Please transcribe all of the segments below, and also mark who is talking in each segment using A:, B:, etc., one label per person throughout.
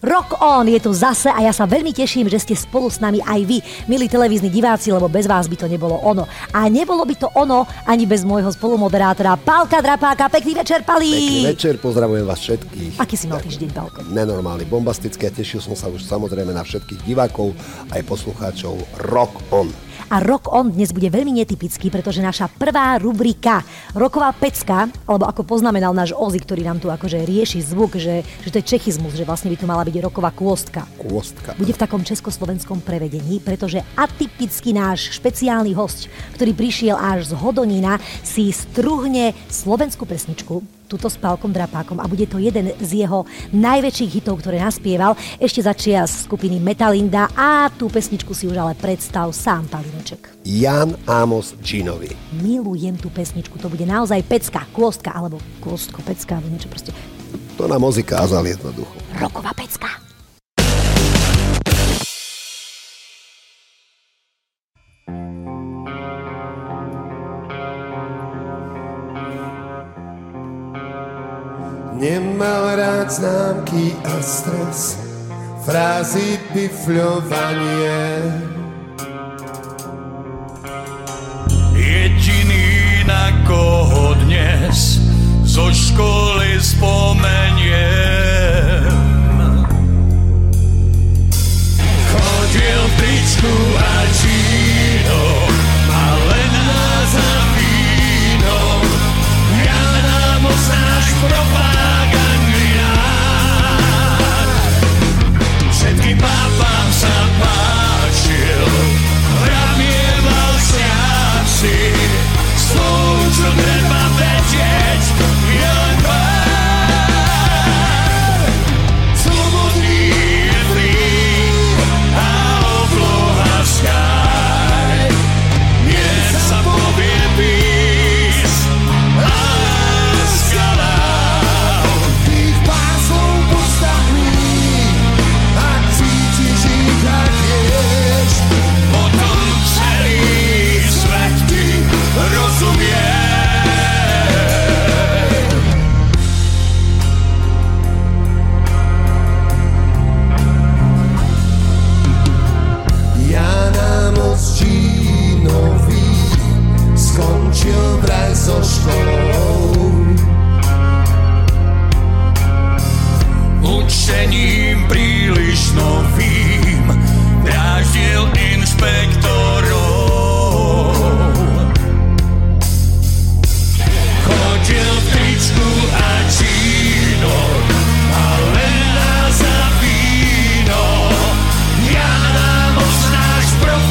A: Rock On je tu zase a ja sa veľmi teším, že ste spolu s nami aj vy, milí televízni diváci, lebo bez vás by to nebolo ono. A nebolo by to ono ani bez môjho spolumoderátora Pálka Drapáka. Pekný večer, Palí!
B: Pekný večer, pozdravujem vás všetkých.
A: Aký si mal týždeň, Pálko?
B: Nenormálny, bombastický a tešil som sa už samozrejme na všetkých divákov aj poslucháčov Rock On.
A: A Rock On dnes bude veľmi netypický, pretože naša prvá rubrika Rocková pecka, alebo ako poznamenal náš Ozi, ktorý nám tu akože rieši zvuk, že to je čechizmus, že vlastne by tu mala byť rocková kôstka.
B: Kôstka.
A: Bude v takom československom prevedení, pretože atypický náš špeciálny hosť, ktorý prišiel až z Hodonína, si struhne slovenskú pesničku, túto s Pálkom Drapákom a bude to jeden z jeho najväčších hitov, ktoré naspieval ešte za čias skupiny Metalinda a tú pesničku si už ale predstav sám, Palineček.
B: Jan Amos Ginovi.
A: Milujem tú pesničku, to bude naozaj pecka, kôstka, alebo kôstko, pecka, alebo niečo proste.
B: To nám Ozi kázal jednoducho.
A: Rocková pecka.
C: Nemal rád známky a stres, frázy, bifľovanie.
D: Jediný, na koho dnes zo školy spomeniem, chodil v tričku a džínoch a len nás za vínom. Jan Amos, náš propagandinár, všetkým babám sa páčil, ramieval šťastie, slov, čo treba vedieť, je len pár. Slobodný je free a obloha sky, nech sa povie peace a láska love.
C: Tých pár slov postavný, ak cítiš ich a tiež,
D: Potom celý svet ti rozumie.
C: Jan Amos Ginovi skončil vraj so školou.
D: Učením príliš novým dráždil inšpektorov. Chodil v tričku a čínoch a len nás za víno. Jan Amos, náš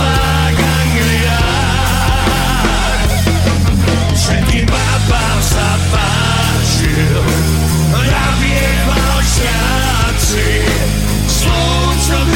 D: propagandinár, všetkým babám sa páčil, navieval šťastie, slov, čo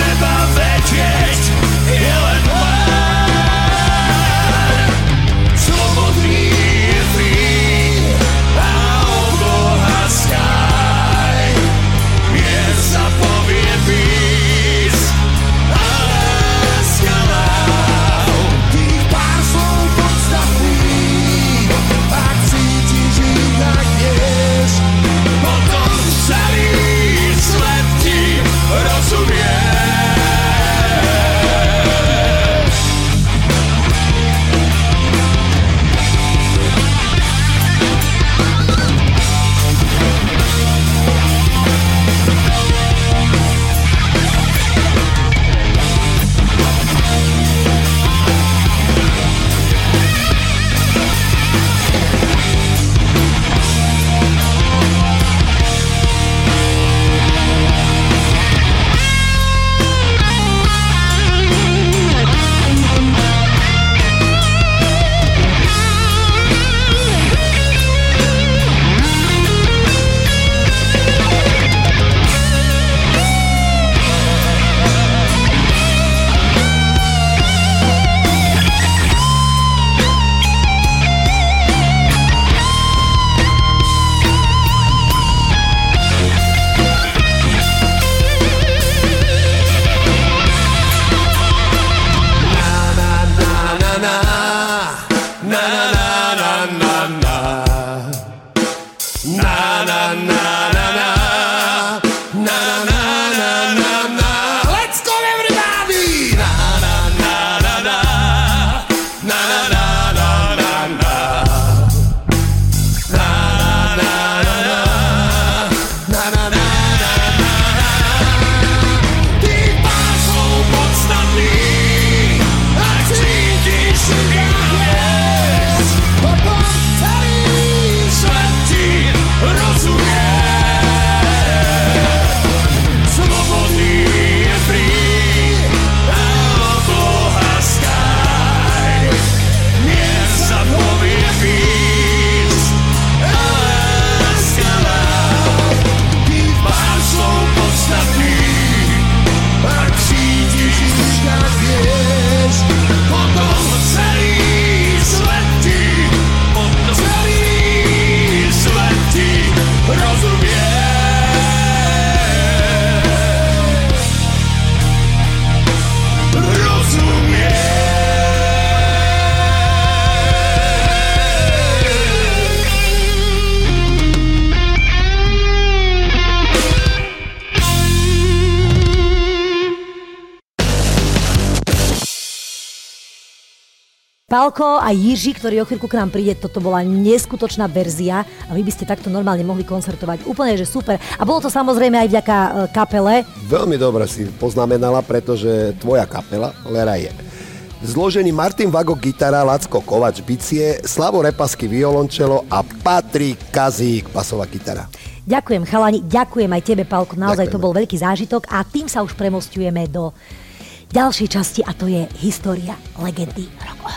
A: Pálko a Jiří, ktorý o chvíľku k nám príde, toto bola neskutočná verzia a vy by ste takto normálne mohli koncertovať. Úplne, že super. A bolo to samozrejme aj vďaka kapele.
B: Veľmi dobre si poznamenala, pretože tvoja kapela Lera je zložený Martin Vagok gitara, Lacko Kovač bicie, Slavo Repasky violončelo a Patrik Kazík basová gitara.
A: Ďakujem chalani, ďakujem aj tebe, Pálko, naozaj
B: Ďakujeme.
A: To bol veľký zážitok a tým sa už premosťujeme do ďalšej časti a to je história legendy rock.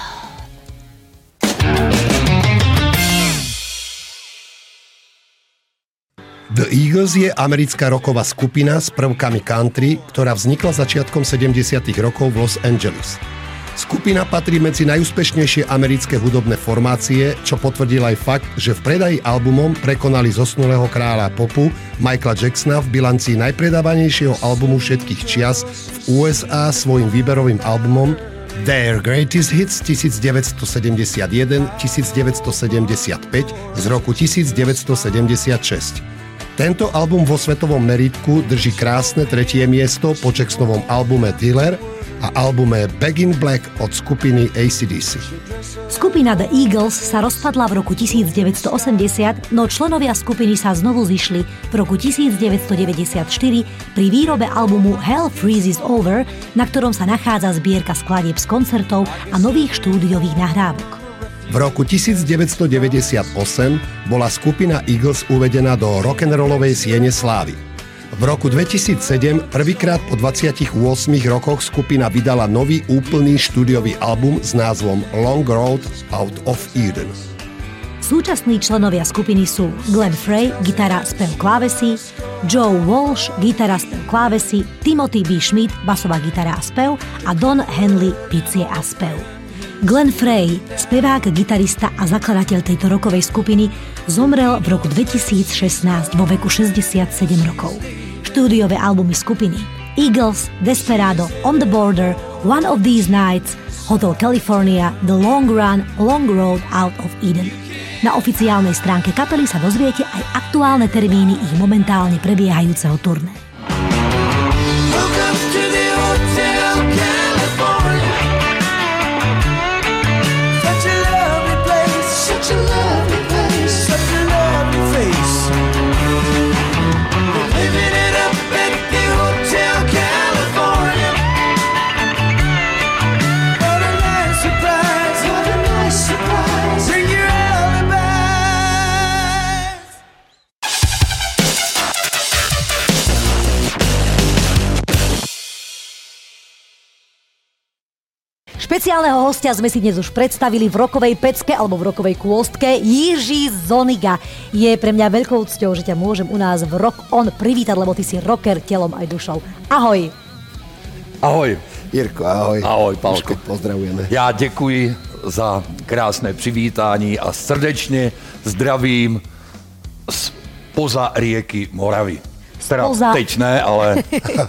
B: The Eagles je americká rocková skupina s prvkami country, ktorá vznikla začiatkom 70. rokov v Los Angeles. Skupina patrí medzi najúspešnejšie americké hudobné formácie, čo potvrdil aj fakt, že v predaji albumom prekonali zosnulého kráľa popu Michaela Jacksona v bilancii najpredávanejšieho albumu všetkých čias v USA svojim výberovým albumom Their Greatest Hits 1971-1975 z roku 1976. Tento album vo svetovom meritku drží krásne 3. miesto po Jacksonovom albume Thriller a albume Back in Black od skupiny AC/DC.
A: Skupina The Eagles sa rozpadla v roku 1980, no členovia skupiny sa znovu zišli v roku 1994 pri výrobe albumu Hell Freezes Over, na ktorom sa nachádza zbierka skladieb z koncertov a nových štúdiových nahrávok.
B: V roku 1998 bola skupina Eagles uvedená do rock'n'rollovej siene slávy. V roku 2007 prvýkrát po 28 rokoch skupina vydala nový úplný štúdiový album s názvom Long Road Out of Eden.
A: Súčasní členovia skupiny sú Glenn Frey, gitara, spev, klávesy, Joe Walsh, gitara, spev, klávesy, Timothy B. Schmidt, basová gitara a spev a Don Henley, bicie a spev. Glenn Frey, spevák, gitarista a zakladateľ tejto rockovej skupiny, zomrel v roku 2016 vo veku 67 rokov. Štúdiové albumy skupiny Eagles, Desperado, On the Border, One of These Nights, Hotel California, The Long Run, Long Road Out of Eden. Na oficiálnej stránke kapely sa dozviete aj aktuálne termíny ich momentálne prebiehajúceho turné. Špeciálneho hostia sme si dnes už predstavili v rokovej pecke alebo v rokovej kôstke. Jiří Zoniga. Je pre mňa veľkou cťou, že ťa môžem u nás v Rock On privítať, lebo ty si rocker telom aj dušou. Ahoj.
E: Ahoj.
B: Jirko, ahoj.
E: Ahoj, Pálko.
B: Pozdravujeme.
E: Já děkuji za krásné přivítání a srdečně zdravím spoza rieky Moravy. Teda teď ne, ale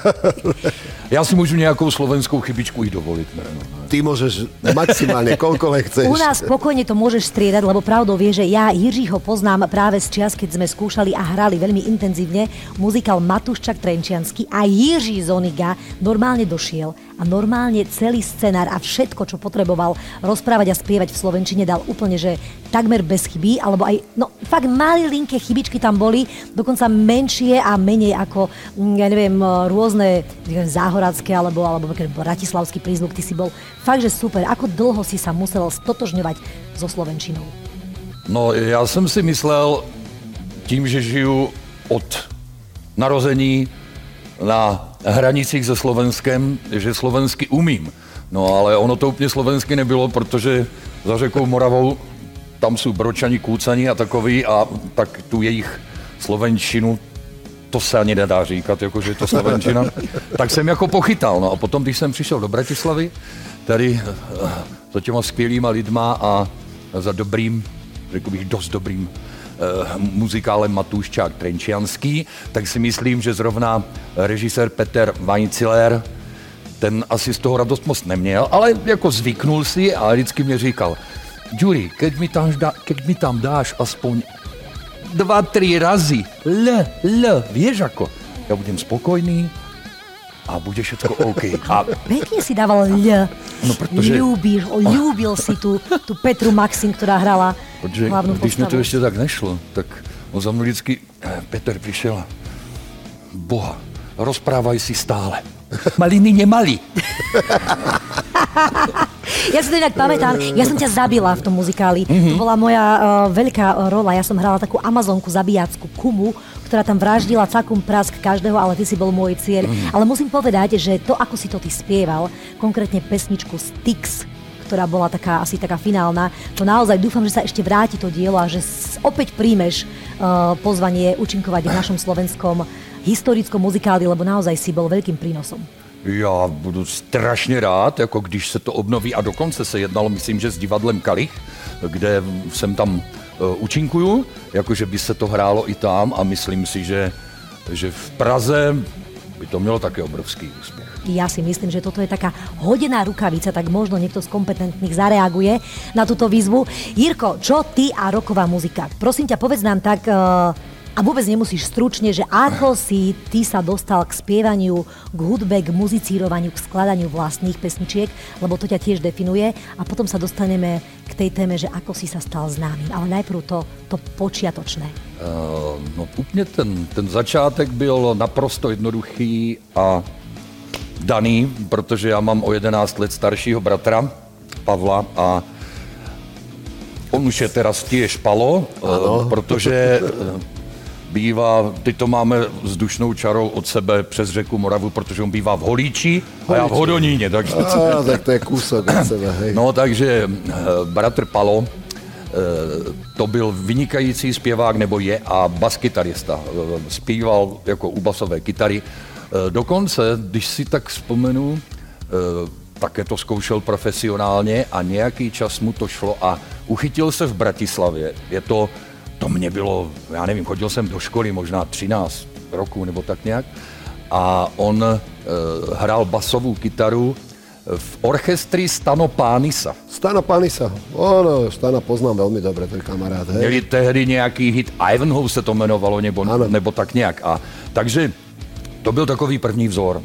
E: já si můžu nějakou slovenskou chybičku i dovolit. Ne?
B: Ty môžeš maximálne, koľkoľvek chceš.
A: U nás spokojne to môžeš striedať, lebo pravdou vie, že ja Jiřího poznám práve z čias, keď sme skúšali a hrali veľmi intenzívne muzikál Matúščak Trenčiansky a Jiří Zoniga normálne došiel a normálne celý scenár a všetko, čo potreboval rozprávať a spievať v slovenčine, dal úplne, že takmer bez chyby, alebo aj, no fakt malilinké chybičky tam boli, dokonca menšie a menej ako, ja neviem, rôzne záhoradské alebo bratislavský prízvuk, ty si bol fakt, že super. Ako dlho si sa musel stotožňovať so slovenčinou?
E: No, já jsem si myslel, tím, že žiju od narození na hranicích se Slovenskem, že slovensky umím. No, ale ono to úplně slovensky nebylo, protože za řekou Moravou tam jsou bročani, kůcani a takový a tak tu jejich slovenčinu, to se ani nedá říkat, jakože je to slovenčina, tak jsem jako pochytal. No a potom, když jsem přišel do Bratislavy, tady za těma skvělýma lidma a za dobrým, řekl bych dost dobrým muzikálem Matúščák Trenčianský, tak si myslím, že zrovna režisér Peter Weinziller, ten asi z toho radost moc neměl, ale jako zvyknul si a vždycky mě říkal, Ďuri, keď mi tam dáš aspoň 2-3 razy L, vieš ako, ja budem spokojný a bude všetko OK. A
A: pekne si dával L.
E: No, protože...
A: Ľúbil si tú Petru Maxim, ktorá hrala hlavnú postavu.
E: Když mi to ještě tak nešlo, tak on za mnou vždycky, Petr přišel a Boha, rozprávaj si stále. Maliny nemali.
A: Ja si to inak pamätám, ja som ťa zabila v tom muzikáli. To bola moja veľká rola. Ja som hrala takú Amazonku zabíjackú Kumu, ktorá tam vraždila cakum prask každého, ale ty si bol môj cieľ. Ale musím povedať, že to, ako si to ty spieval, konkrétne pesničku Styx, ktorá bola asi taká finálna, to naozaj dúfam, že sa ešte vráti to dielo a že opäť príjmeš pozvanie účinkovať v našom slovenskom historickom muzikáli, lebo naozaj si bol veľkým prínosom.
E: Já budu strašně rád, jako když se to obnoví a dokonce se jednalo, myslím, že s divadlem Kalich, kde jsem tam účinkuju, jakože by se to hrálo i tam a myslím si, že v Praze by to mělo také obrovský úspěch.
A: Ja si myslím, že toto je taká hodená rukavica, tak možno niekto z kompetentných zareaguje na túto výzvu. Jirko, čo ty a rocková muzika? Prosím ťa, povedz nám tak, a vôbec nemusíš stručne, že ako si ty sa dostal k spievaniu, k hudbe, k muzicírovaniu, k skladaniu vlastných pesničiek, lebo to ťa tiež definuje a potom sa dostaneme k tej téme, že ako si sa stal známym. Ale najprv to počiatočné.
E: No úplně ten začátek byl naprosto jednoduchý a daný, protože já mám o 11 let staršího bratra Pavla a on už je teraz tiež Palo, protože bývá, teď to máme vzdušnou čarou od sebe přes řeku Moravu, protože on bývá v Holíči a já v Hodoníně. Takže...
F: tak to je kúsok od sebe, hej.
E: No takže bratr Palo, to byl vynikající zpěvák, nebo je, a baskytarista. Zpíval jako u basové kytary. Dokonce, když si tak vzpomenu, také to zkoušel profesionálně a nějaký čas mu to šlo a uchytil se v Bratislavě. To mě bylo, já nevím, chodil jsem do školy možná 13 roků nebo tak nějak a on hrál basovou kytaru v orchestri Stano Pánisa.
F: Stano Pánisa, Stana poznám velmi dobře, to je kamarád. Hej.
E: Měli tehdy nějaký hit, Ivanhoe se to jmenovalo, nebo tak nějak. A takže to byl takový první vzor.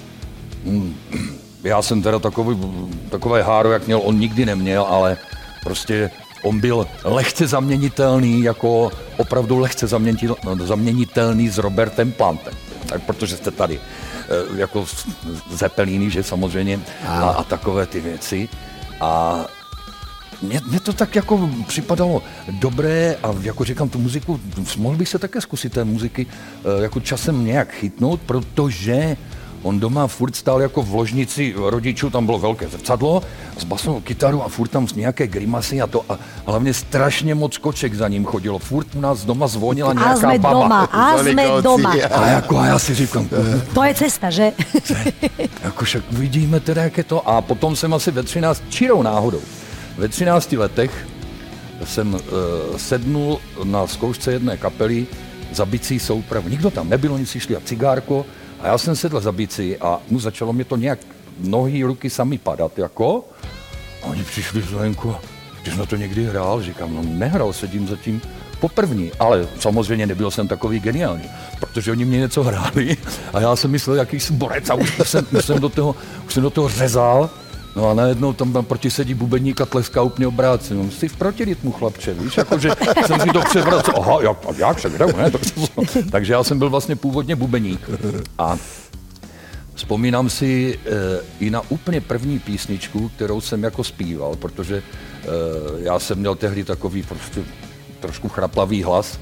E: Já jsem teda takové háro, jak měl, on nikdy neměl, ale prostě on byl lehce zaměnitelný, jako opravdu lehce zaměnitelný s Robertem Plantem. Tak protože jste tady jako Zeppeliny, že samozřejmě, a takové ty věci. A mně to tak jako připadalo dobré a jako říkám, tu muziku, mohl bych se také zkusit té muziky jako časem nějak chytnout, protože on doma furt stál jako v ložnici rodičů, tam bylo velké zrcadlo s basovou kytarou a furt tam nějaké grimasy a to a hlavně strašně moc koček za ním chodilo. Furt u nás doma zvonila nějaká baba.
A: A jsme doma.
E: A já si říkám,
A: to je cesta, že?
E: Jako však uvidíme teda, jak je to. A potom jsem asi čirou náhodou, ve 13 letech jsem sednul na zkoušce jedné kapely za bicí soupravu. Nikdo tam nebyl, oni si šli a cigárko. A já jsem sedl za bicí a začalo mě to nějak nohy, ruky sami padat, jako. A oni přišli zvenku, ty jsi na to někdy hrál? Říkám, no nehrál, sedím zatím poprvní, ale samozřejmě nebyl jsem takový geniální, protože oni mě něco hráli a já jsem myslel, jaký jsem borec a už jsem do toho řezal. No a najednou tam proti sedí bubeník a tleská úplně obráceně. Jsi v protirytmu, chlapče, víš, jakože jsem si to převracel. Aha, jak se hraju, ne? Takže já jsem byl vlastně původně bubeník. A vzpomínám si i na úplně první písničku, kterou jsem jako zpíval, protože já jsem měl tehdy takový prostě trošku chraplavý hlas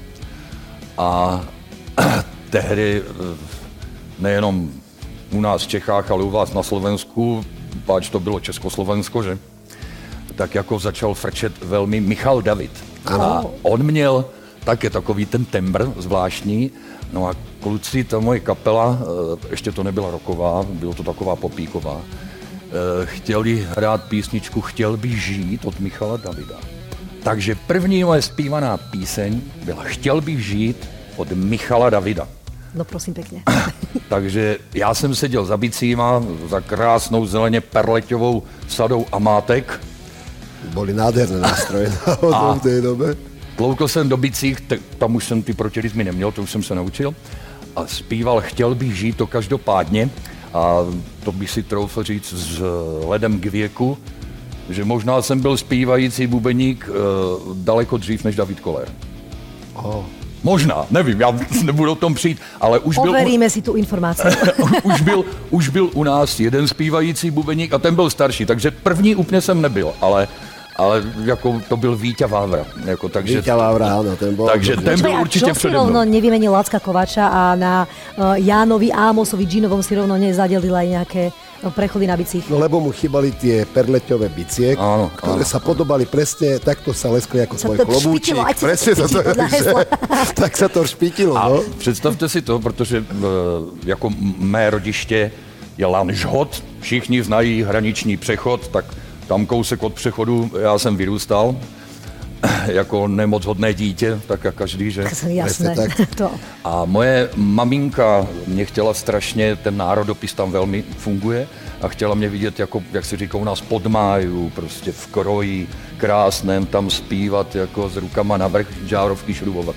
E: a tehdy nejenom u nás v Čechách, ale u vás na Slovensku, páč to bylo Československo, že? Tak jako začal frčet velmi Michal David. A on měl také takový ten tembr zvláštní. No a kluci, ta moje kapela, ještě to nebyla rocková, bylo to taková popíková, chtěli hrát písničku Chtěl bych žít od Michala Davida. Takže první moje zpívaná píseň byla Chtěl bych žít od Michala Davida.
A: No prosím pěkně.
E: Takže já jsem seděl za bicíma, za krásnou zeleně perleťovou sadou amátek.
F: Boli nádherné nástroje v té době.
E: Tloukl jsem do bicích, tam už jsem ty protirytmy neměl, to už jsem se naučil. A zpíval Chtěl bych žít to každopádně. A to bych si troufl říct s ledem k věku, že možná jsem byl zpívající bubeník daleko dřív než David Koller. Možná, nevím, já nebudu o tom přijít, ale
A: overíme si tu informaci.
E: už byl u nás jeden zpívající bubeník a ten byl starší, takže první úplně jsem nebyl, ale jako to byl Víťa Vávra. Jako, takže,
F: Víťa Vávra, áno, ten bol.
E: Takže ten byl určitě
A: čo si
E: přede mnou.
A: rovno nevymenil Lacka Kovača a na Jánovi Ámosovi Džinovom si rovno nezadelil aj nejaké prechody na bicích?
F: No lebo mu chýbali tie perleťové bicie, ktoré sa podobali presne, takto sa leskli ako svoj klobúčik. Presne to tak sa to špítilo.
E: A
F: no?
E: představte si to, protože jako mé rodiště je Lanžhot, všichni znají hraniční přechod, tak tam kousek od přechodu já jsem vyrůstal jako nemoc hodné dítě, tak jak každý, že?
A: Jasné. To.
E: A moje maminka mě chtěla strašně, ten národopis tam velmi funguje a chtěla mě vidět, jako, jak se říká u nás, pod máju, prostě v kroji krásném, tam zpívat jako s rukama navrch, žárovky šrubovat.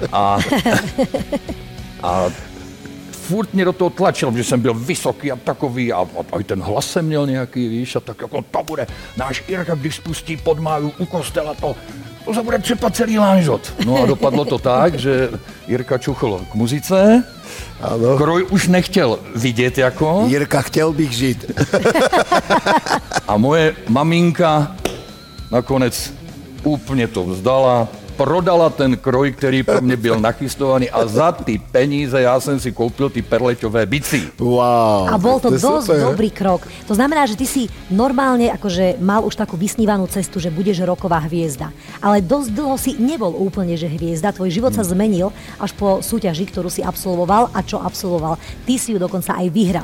E: A furt mě do toho tlačil, že jsem byl vysoký a takový a i ten hlas jsem měl nějaký, víš, a tak jako to bude náš Jirka, když spustí pod máju u kostela, to se bude třepat celý Lanžhot. No a dopadlo to tak, že Jirka čuchl k muzice,
F: ano.
E: Kroj už nechtěl vidět jako.
F: Jirka, chtěl bych žít.
E: A moje maminka nakonec úplně to vzdala, prodala ten kroj, který pro mě byl nachystovaný a za ty peníze já jsem si koupil ty perleťové bicí.
F: Wow.
A: A bol to dosť dobrý krok. To znamená, že ty si normálne akože mal už takú vysnívanú cestu, že budeš roková hviezda. Ale dosť dlho si nebol úplne, že hviezda. Tvoj život sa zmenil až po súťaži, ktorú si absolvoval a čo absolvoval. Ty si ju dokonca aj vyhral.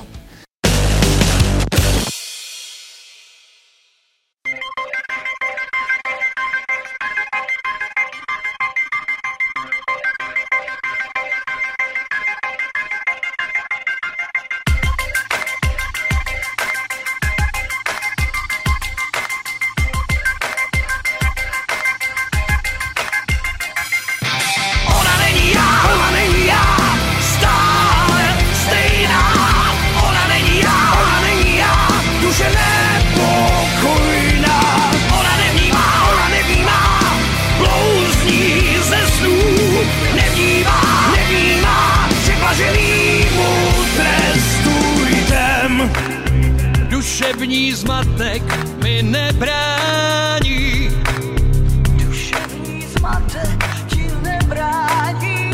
D: Duševní zmatek mi nebrání. Duševní zmatek ti nebrání.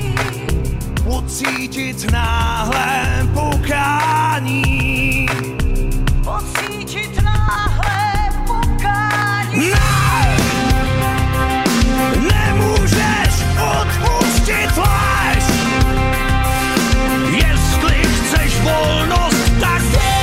D: Pocítit náhle pokání. Pocítit náhle pokání. Ne! Nemůžeš odpustit lež. Jestli chceš volnost, tak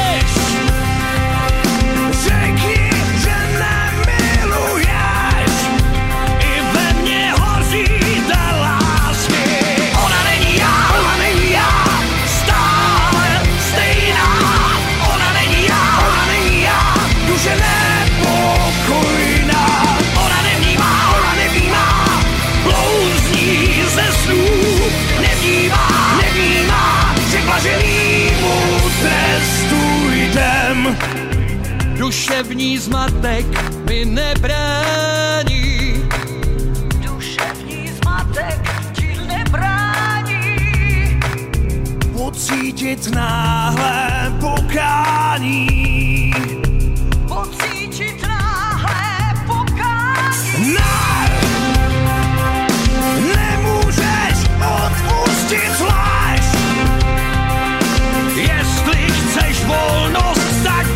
D: duševní zmatek mi nebrání. Duševní zmatek ti nebrání. Pocítit náhle pokání. Pocítit náhle pokání. Ne! Nemůžeš odpustit lež. Jestli chceš volnost, tak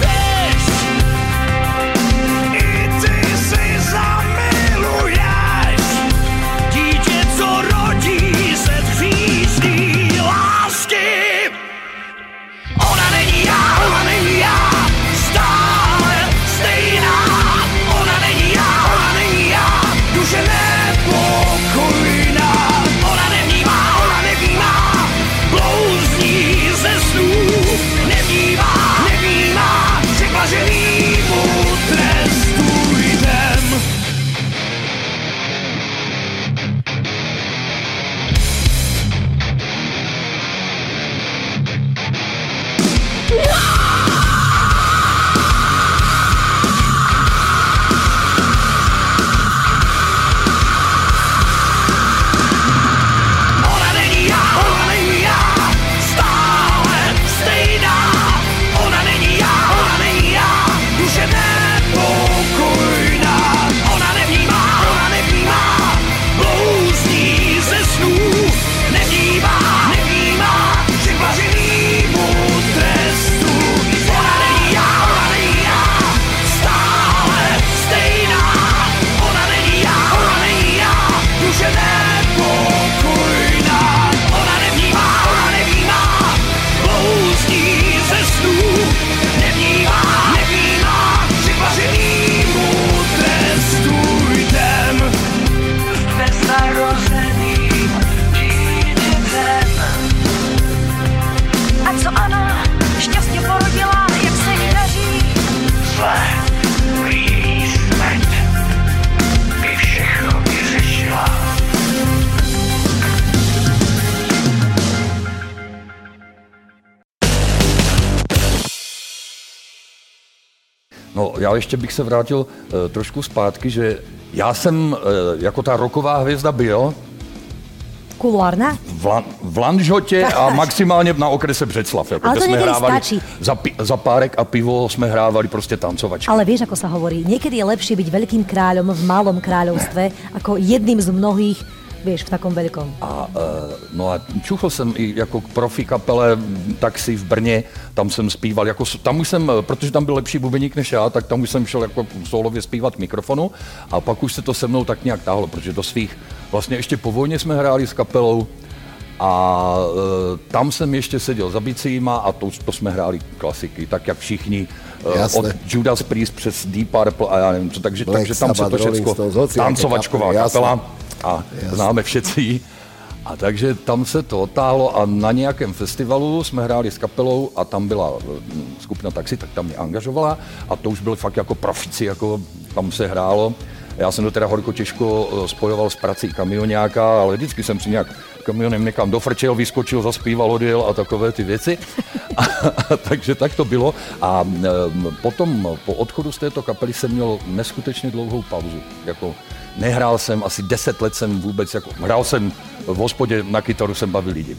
E: No, já ještě bych se vrátil trošku zpátky, že já jsem jako ta rocková hvězda byl
A: Kulárna?
E: V Lanžhotě a maximálně na okrese Břeclav. Jako,
A: ale to
E: jsme hrávali
A: stačí.
E: Za párek a pivo jsme hrávali prostě tancovačky.
A: Ale vieš, ako sa hovorí, niekedy je lepšie byť veľkým kráľom v malom kráľovstve, ako jedným z mnohých, vieš, v takom veľkom.
E: No a čuchl jsem i jako profi kapele Taxi v Brně, tam jsem zpíval, jako, tam už jsem, protože tam byl lepší bubeník než já, tak tam už jsem šel jako solově zpívat k mikrofonu a pak už se to se mnou tak nějak táhlo, protože do svých, vlastně ještě po vojně jsme hráli s kapelou a tam jsem ještě seděl za bicíma a to jsme hráli klasiky, tak jak všichni, od Judas Priest přes Deep Purple a já nevím co, takže tam se to všechno, tancovačková kapela. A známe všetci. A takže tam se to otáhlo a na nějakém festivalu jsme hráli s kapelou a tam byla skupina Taxi, tak tam mě angažovala a to už byli fakt jako profici, jako tam se hrálo. Já jsem to teda horko těžko spojoval s prací kamionáka, ale vždycky jsem si nějak kamionem někam dofrčel, vyskočil, zaspíval, odjel a takové ty věci. Takže tak to bylo. A potom po odchodu z této kapely jsem měl neskutečně dlouhou pauzu. Jako nehrál jsem, asi 10 let jsem vůbec, jako, hrál jsem v hospodě, na kytaru jsem bavil lidi.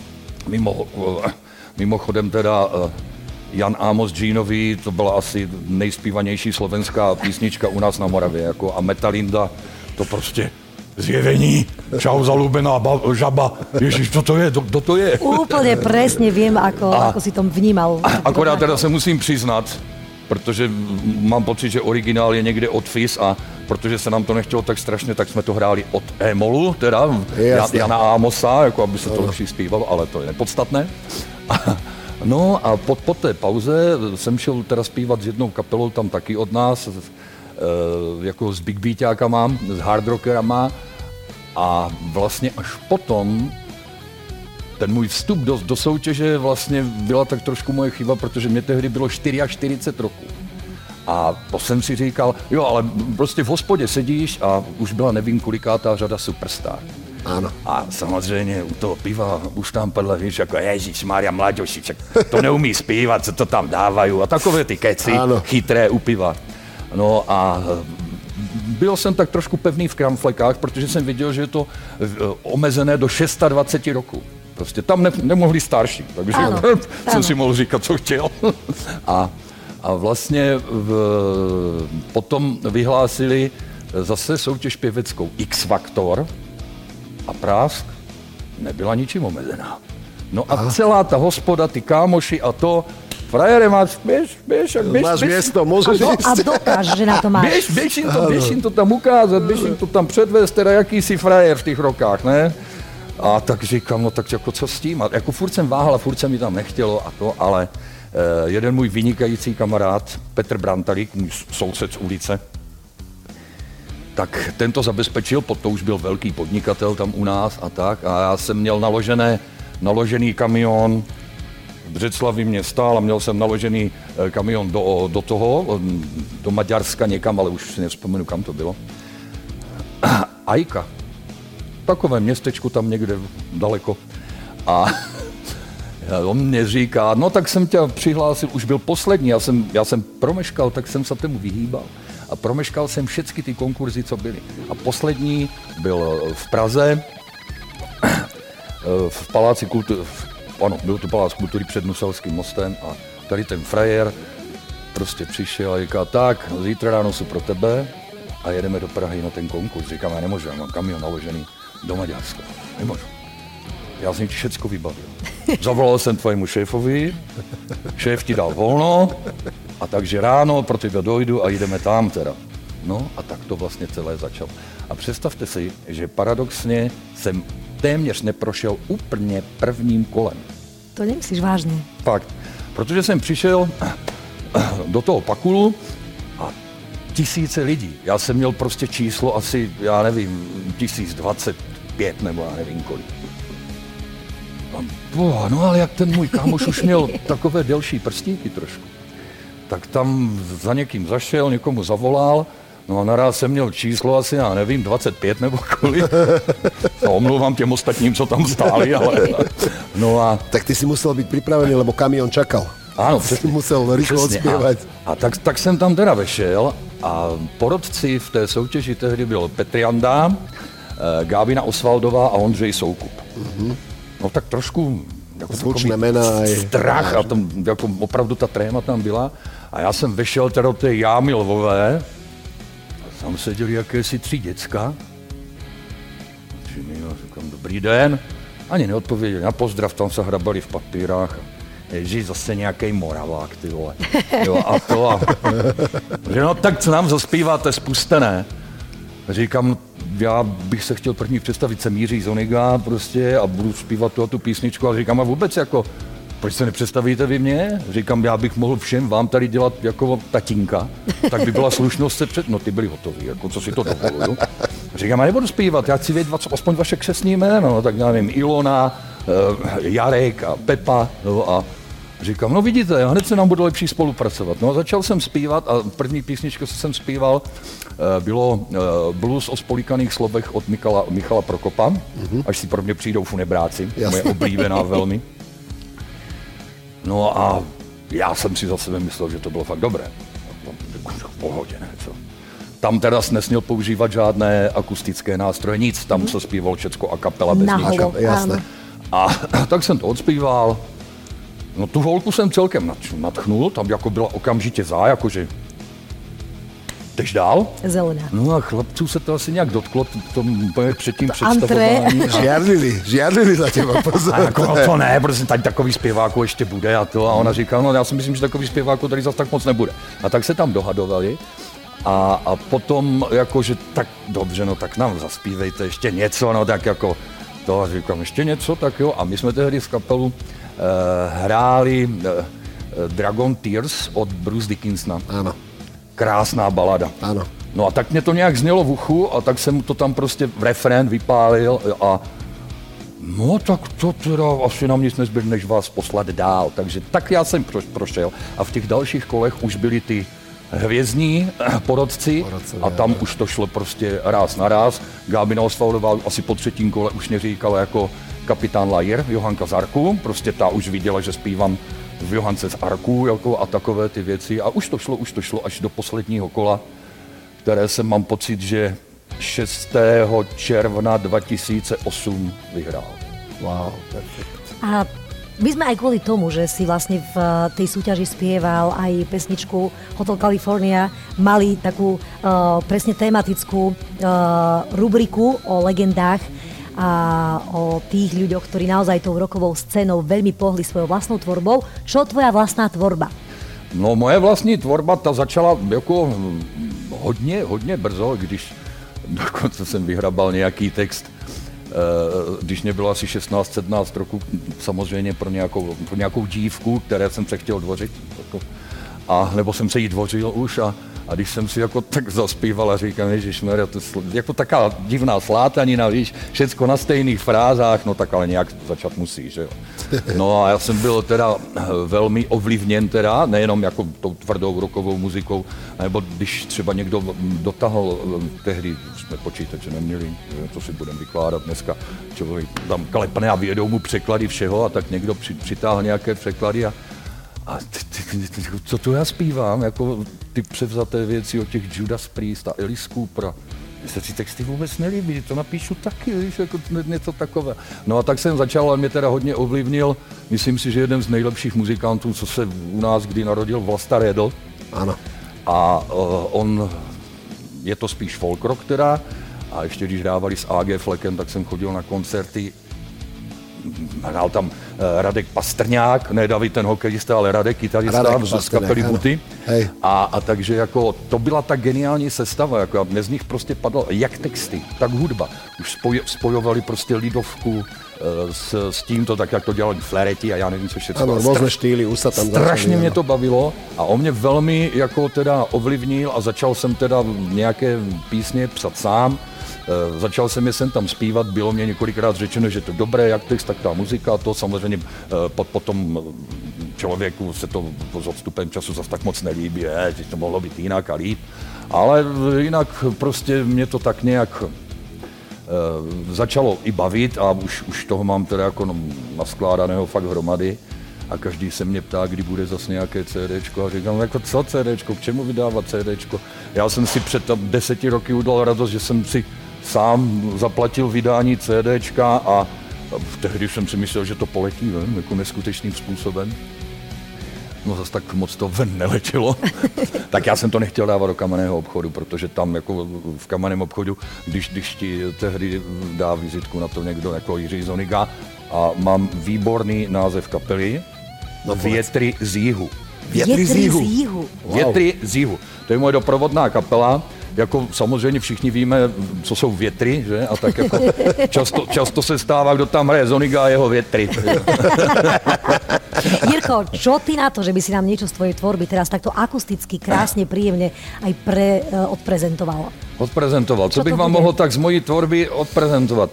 E: Mimochodem teda Jan Amos Jeanový, to byla asi nejspívanější slovenská písnička u nás na Moravě, jako, a Metalinda, to prostě zjevení, čau zalúbená žaba, ježiš, co to je, kdo to je?
A: Úplne presne viem, ako si to vnímal.
E: Akorát teda se musím přiznat, protože mám pocit, že originál je někde od FIS a protože se nám to nechtělo tak strašně, tak jsme to hráli od E-molu, teda Jana Amosa, jako aby se to lepší zpívalo, ale to je nepodstatné. No a po té pauze jsem šel teda zpívat s jednou kapelou tam taky od nás, jako s big beatákama, s hard rockerama a vlastně až potom ten můj vstup do soutěže vlastně byla tak trošku moje chyba, protože mě tehdy bylo 44 roků. A to jsem si říkal, jo, ale prostě v hospodě sedíš a už byla nevím kolikátá řada Superstar.
F: Áno.
E: A samozřejmě u toho piva už tam padla, víš, jako Ježišmária, mlaďoši, to neumí zpívat, co to tam dávají a takové ty keci chytré u piva. No a byl jsem tak trošku pevný v kramflekách, protože jsem viděl, že je to omezené do 26 roků. Prostě tam nemohli starší, takže jsem si mohl říkat, co chtěl. A vlastně potom vyhlásili zase soutěž pěveckou X-Factor a Prásk nebyla ničím omezená. No a celá ta hospoda, ty kámoši a to, frajere, máš
F: miesto, môžeš ísť.
A: A dokáž, že na to máš.
E: Běž jim to tam ukázat, běž jim to tam předvést, teda jakýsi frajer v těch rokách, ne? A tak říkám, no tak jako co s tím? A jako furt jsem váhal a furt se mi tam nechtělo a to, ale jeden můj vynikající kamarád, Petr Brantalík, můj soused z ulice, tak ten to zabezpečil, to už byl velký podnikatel tam u nás a tak. A já jsem měl naložený kamion, v Břeclavi mě stál a měl jsem naložený kamion do Maďarska někam, ale už si nevzpomenu, kam to bylo. Ajka. Takové městečko tam někde daleko. A on mě říká, no tak jsem tě přihlásil, už byl poslední, já jsem promeškal, tak jsem se tomu vyhýbal. A promeškal jsem všechny ty konkurzy, co byly. A poslední byl v Praze, v Paláci kultury, ano, byl to Palác kultury před Nuselským mostem a tady ten frajer prostě přišel a říká, tak, zítra ráno jsou pro tebe a jedeme do Prahy na ten konkurs. Říkám, já nemůžu, já mám kamion naložený do Maďarska. Nemůžu. Já jsem ti všecko vybavil. Zavolal jsem tvojemu šéfovi, šéf ti dal volno a takže ráno pro tebe dojdu a jdeme tam teda. No a tak to vlastně celé začalo. A představte si, že paradoxně jsem téměř neprošel úplně prvním kolem.
A: To nemyslíš vážně?
E: Fakt. Protože jsem přišel do toho Pakulu a tisíce lidí. Já jsem měl prostě číslo asi, já nevím, 1025 nebo já nevím kolik. No ale jak ten můj kámoš už měl takové delší prstíky trošku, tak tam za někým zašel, někomu zavolal, no a naraz jsem měl číslo asi, já nevím, 25 nebo kolik. No, omlouvám těm ostatním, co tam stáli, ale... No a...
F: Tak ty si musel být připravený, lebo kamion čakal.
E: Ano, přesně.
F: Musel rychle odspěvat.
E: A tak jsem tam teda vešel a porotci v té soutěži tehdy byl Petr Janda, Gábina Osvaldová a Ondřej Soukup. No tak trošku jako
F: zvučné jména
E: strach a tam jako opravdu ta tréma tam byla. A já jsem vešel teda do té jámy Lvové a tam seděli jakési 3 děcka. Říkám, dobrý den. Ani neodpověděli na pozdrav, tam se hrabali v papírách. Ježíš, zase nějaký Moravák, ty vole. Jo, a to a... Že no tak co nám zaspíváte, spustené. Říkám, já bych se chtěl první představit, jsem Jiří Zoniga prostě a budu zpívat tu písničku a říkám, a vůbec jako, proč se nepředstavíte vy mě? Říkám, já bych mohl všem vám tady dělat jako tatínka, tak by byla slušnost se no ty byli hotoví, jako co si to dovoluju. Říkám, já nebudu zpívat, já chci vědět aspoň vaše křestní jméno, tak já nevím, Ilona, Jarek a Pepa, no a říkám, no vidíte, hned se nám bude lepší spolupracovat. No a začal jsem zpívat a první písničku, co jsem zpíval, bylo blues o spolikaných slovech od Michala Prokopa, až si pro mě přijdou funebráci, moje oblíbená velmi. No a já jsem si za sebe myslel, že to bylo fakt dobré. V pohodě, ne, co? Tam teda nesměl používat žádné akustické nástroje, nic, tam se zpíval všecko a kapela bez ničeho.
F: Jasné.
E: A tak jsem to odspíval. No tu holku jsem celkem nadchnul, tam jako byla okamžitě jakože jdeš dál?
A: Zelená.
E: No a chlapců se to asi nějak dotklo před tím představování.
F: Žiarlili za těma, pozor.
E: A jako, no to ne, protože tady takový zpěváků ještě bude a to. A ona říká, no já si myslím, že takový zpěváků tady zase tak moc nebude. A tak se tam dohadovali. A potom jakože tak dobře, no tak nám zaspívejte ještě něco, no tak jako to říkám, ještě něco, tak jo. A my jsme tehdy z kapelu hráli Dragon Tears od Bruce Dickinsona.
F: Ano.
E: Krásná balada.
F: Ano.
E: No a tak mě to nějak znělo v uchu a tak jsem to tam prostě v refrén vypálil a no tak to teda asi nám nic nezbyl, než vás poslat dál. Takže tak já jsem prošel a v těch dalších kolech už byli ty hvězdní porotci a tam už to šlo prostě ráz na ráz. Gábina Osvaldová asi po 3. kole už mě říkala jako kapitán Lajer, Johanka z Arku, prostě ta už viděla, že zpívám v Johance z Arku jako a takové ty věci a už to šlo až do posledního kola, které jsem mám pocit, že 6. června 2008 vyhrál.
F: Wow, perfekt.
A: A my sme aj kvôli tomu, že si vlastne v tej súťaži spieval aj pesničku Hotel California, mali takú presne tematickú rubriku o legendách a o tých ľuďoch, ktorí naozaj tou rokovou scénou veľmi pohli svojou vlastnou tvorbou. Čo tvoja vlastná tvorba?
E: No moje vlastní tvorba, ta začala jako hodně brzo, když dokonce jsem vyhrabal nějaký text, když mě bylo asi 16-17 roku, samozřejmě pro nějakou dívku, které jsem se chtěl dvořit. A nebo jsem se jí dvořil už a když jsem si jako tak zaspíval a říkám, ježišmarja, to jako taká divná slátanina, víš, všecko na stejných frázách, no tak ale nějak začat musí, že jo. No a já jsem byl teda velmi ovlivněn teda, nejenom jako tou tvrdou rockovou muzikou, nebo když třeba někdo dotahl, tehdy jsme počítače neměli, co si budeme vykládat dneska, člověk tam klepne a vyjedou mu překlady všeho a tak někdo přitáhl nějaké překlady a co tu já zpívám, jako ty převzaté věci od těch Judas Priest a Alice Cooper. Mně se ty texty vůbec nelíbí, to napíšu taky, víš, jako něco takové. No a tak jsem začal, ale mě teda hodně ovlivnil, myslím si, že jeden z nejlepších muzikantů, co se u nás kdy narodil, Vlasta Redl.
F: Ano.
E: A on, je to spíš folk rock teda, a ještě když dávali s A.G. Fleckem, tak jsem chodil na koncerty. Hrál tam Radek Pastrňák, ne David ten hokejista, ale Radek kytarista z kapely Buty. A takže jako to byla ta geniální sestava, jako a z nich prostě padlo jak texty, tak hudba. Už spojovali prostě lidovku s tímto, tak jak to dělali Flaherty a já nevím, co všechno.
F: Ano, různé štýly, už se tam
E: strašně mě to bavilo a on mě velmi jako teda ovlivnil a začal jsem teda nějaké písně psat sám. Začal jsem je sem tam zpívat, bylo mě několikrát řečeno, že to je dobré, jak text, tak ta muzika, to samozřejmě potom člověku se to s odstupem času zase tak moc nelíbí, že to mohlo být jinak a líp, ale jinak prostě mě to tak nějak začalo i bavit a už toho mám teda jako naskládaného fakt hromady a každý se mě ptá, kdy bude zase nějaké CDčko a říkám, jako co CDčko, k čemu vydávat CDčko? Já jsem si před 10 roky udělal radost, že jsem si sám zaplatil vydání CDčka a tehdy jsem si myslel, že to poletí ven, jako neskutečným způsobem. No zase tak moc to ven neletělo. Tak já jsem to nechtěl dávat do kamenného obchodu, protože tam jako v kamenném obchodu, když ti tehdy dá vizitku na to někdo jako Jiří Zoniga a mám výborný název kapely, Větry z jihu.
A: Větry z jihu.
E: Větry z jihu. To je moje doprovodná kapela. Jako samozřejmě všichni víme, co jsou větry, že? A tak jako často se stává, kdo tam hraje Zoniga a jeho větry.
A: Jirko, čo ty na to, že by si nám niečo z tvojej tvorby teraz takto akusticky, krásne, príjemne aj odprezentoval?
E: Odprezentoval. Co bych vám mohl tak z mojí tvorby odprezentovat?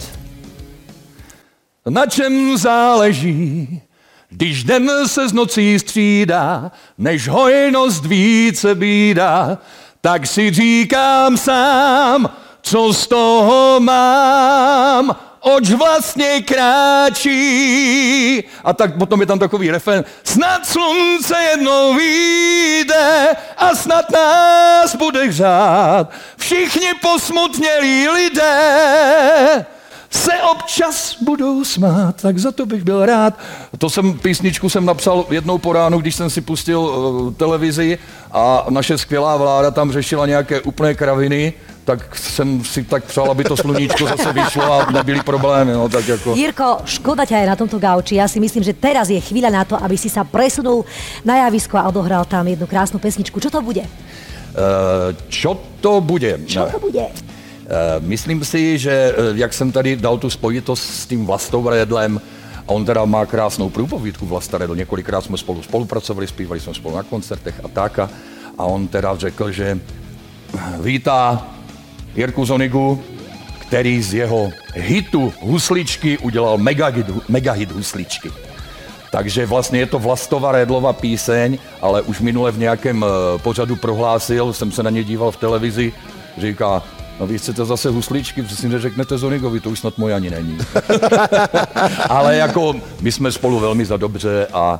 E: Na čem záleží, když den se z nocí střídá, než hojnost více bídá, tak si říkám sám, co z toho mám, oč vlastně kráčí. A tak potom je tam takový refrén. Snad slunce jednou vyjde a snad nás bude hřát. Všichni posmutnělí lidé se občas budou smát, tak za to bych byl rád. Písničku jsem napsal jednou po ránu, když jsem si pustil televizi a naše skvělá vláda tam řešila nějaké úplné kraviny, tak jsem si tak přál, aby to sluníčko zase vyšlo a nebyly problémy. No, tak jako...
A: Jirko, škoda ťa aj na tomto gauči. Ja si myslím, že teraz je chvíľa na to, aby si sa presunul na javisko a odohral tam jednu krásnu pesničku. Čo to bude?
E: Čo to bude? Myslím si, že jak jsem tady dal tu spojitost s tím Vlastou Redlem, a on teda má krásnou průpovídku Vlasta Redl, několikrát jsme spolu spolupracovali, zpívali jsme spolu na koncertech a tak. A on teda řekl, že vítá Jirku Zonigu, který z jeho hitu Husličky udělal megahit Husličky. Takže vlastně je to Vlastova Redlova píseň, ale už minule v nějakém pořadu prohlásil, jsem se na ně díval v televizi, říká, no vy chcete zase Husličky, přesně neřeknete Zonigovi, to už snad moje ani není. Ale jako my jsme spolu velmi za dobře a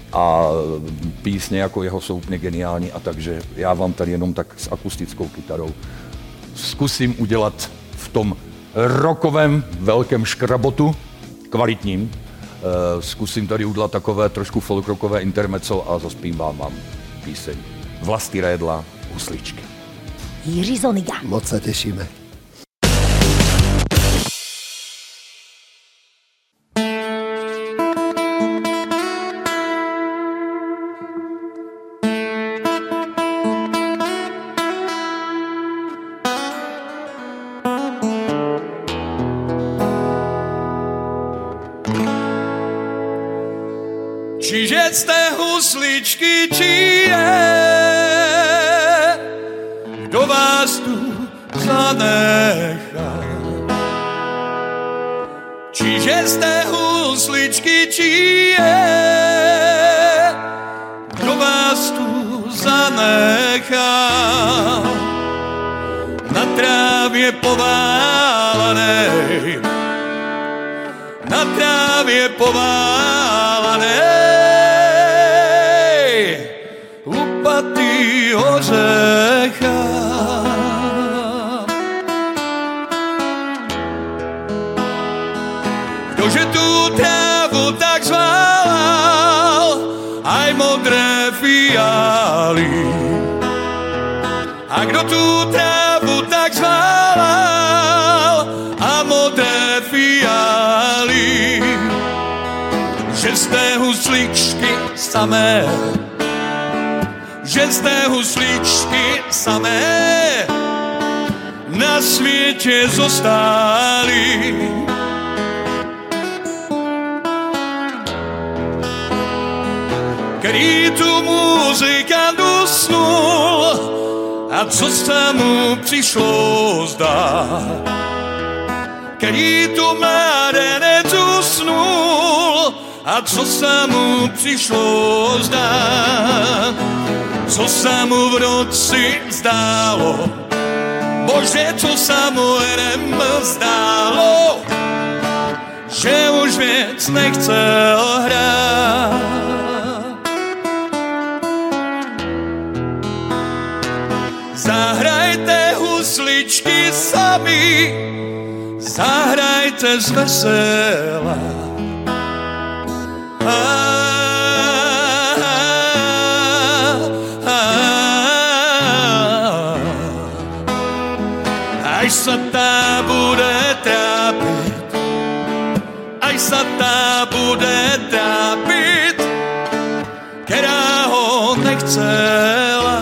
E: písně jako jeho jsou úplně geniální a takže já vám tady jenom tak s akustickou kytarou zkusím udělat v tom rockovém velkém škrabotu, kvalitním, zkusím tady udělat takové trošku folkrockové intermezzo a zaspívám vám píseň Vlasty Redla Husličky.
A: Jiří Zoniga.
F: Moc sa tešíme.
D: Čiže jste husličky, či je, kdo vás tu zanechá. Čiže jste husličky, či je, kdo vás tu zanechá. Na trávě poválanej, na trávě poválanej, upatý ořecha. Kdože tu trávu tak zválal, aj modré fialy. A kdo tu trávu tak zválal, a modré fialy. Že jste husličky samé, že jste husličky samé, na světě zostáli. Který tu muzikant usnul a co se mu přišlo zdát. Který tu mládenec usnul a co se mu přišlo zdát. Co se mu v noci zdálo, bože, co se mu jen zdálo, že už věc nechcel hrát. zahrajte z vesela. Až sa tá bude trápiť, aj sa tá bude trápiť, ktorá ho nechcela.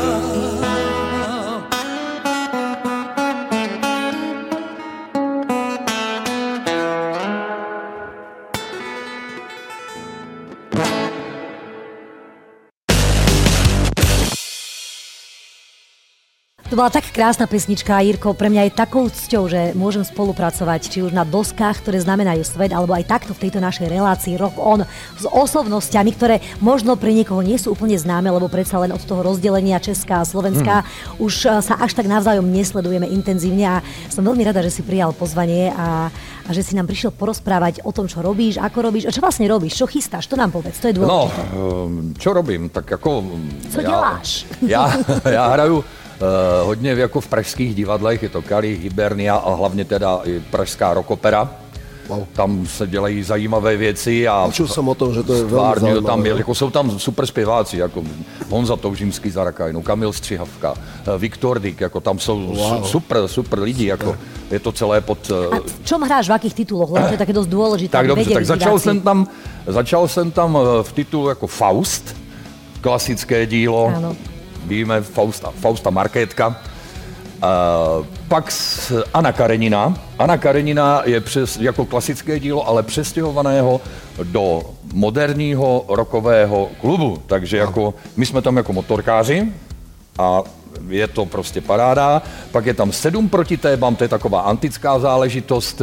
A: To bola tak krásna pesnička, Jirko, pre mňa je takou cťou, že môžem spolupracovať, či už na doskách, ktoré znamenajú svet, alebo aj takto v tejto našej relácii Rock On s osobnostiami, ktoré možno pre niekoho nie sú úplne známe, lebo predsa len od toho rozdelenia Česká a Slovenská už sa až tak navzájom nesledujeme intenzívne a som veľmi rada, že si prijal pozvanie a že si nám prišiel porozprávať o tom, čo robíš, ako robíš a čo vlastne robíš, čo chystáš, to nám povedz, to je dôležité.
E: No, čo robím, tak ako...
A: Co děláš?
E: Já hraju hodně jako v pražských divadlech, je to Kali, Hibernia a hlavně teda i pražská rockopera. Wow. Tam se dělají zajímavé věci a
F: počul jsem o tom, že to je velmi zajímavé.
E: Tam jako jsou tam super zpěváci, jako Honza Toužimský za Rakajnou, Kamil Střihavka, Viktor Dyk, jako tam jsou super lidi, jako je to celé pod...
A: A v čom hráš, v akých tituloch? Lebo to je také dosť dôležité.
E: Tak dobře, tak začal jsem tam v titulu jako Faust, klasické dílo. Ano. Víme, Fausta Markétka. Pak Anna Karenina. Anna Karenina je jako klasické dílo, ale přestěhovaného do moderního rockového klubu. Takže jako, my jsme tam jako motorkáři a je to prostě paráda. Pak je tam 7 proti tébám, to je taková antická záležitost.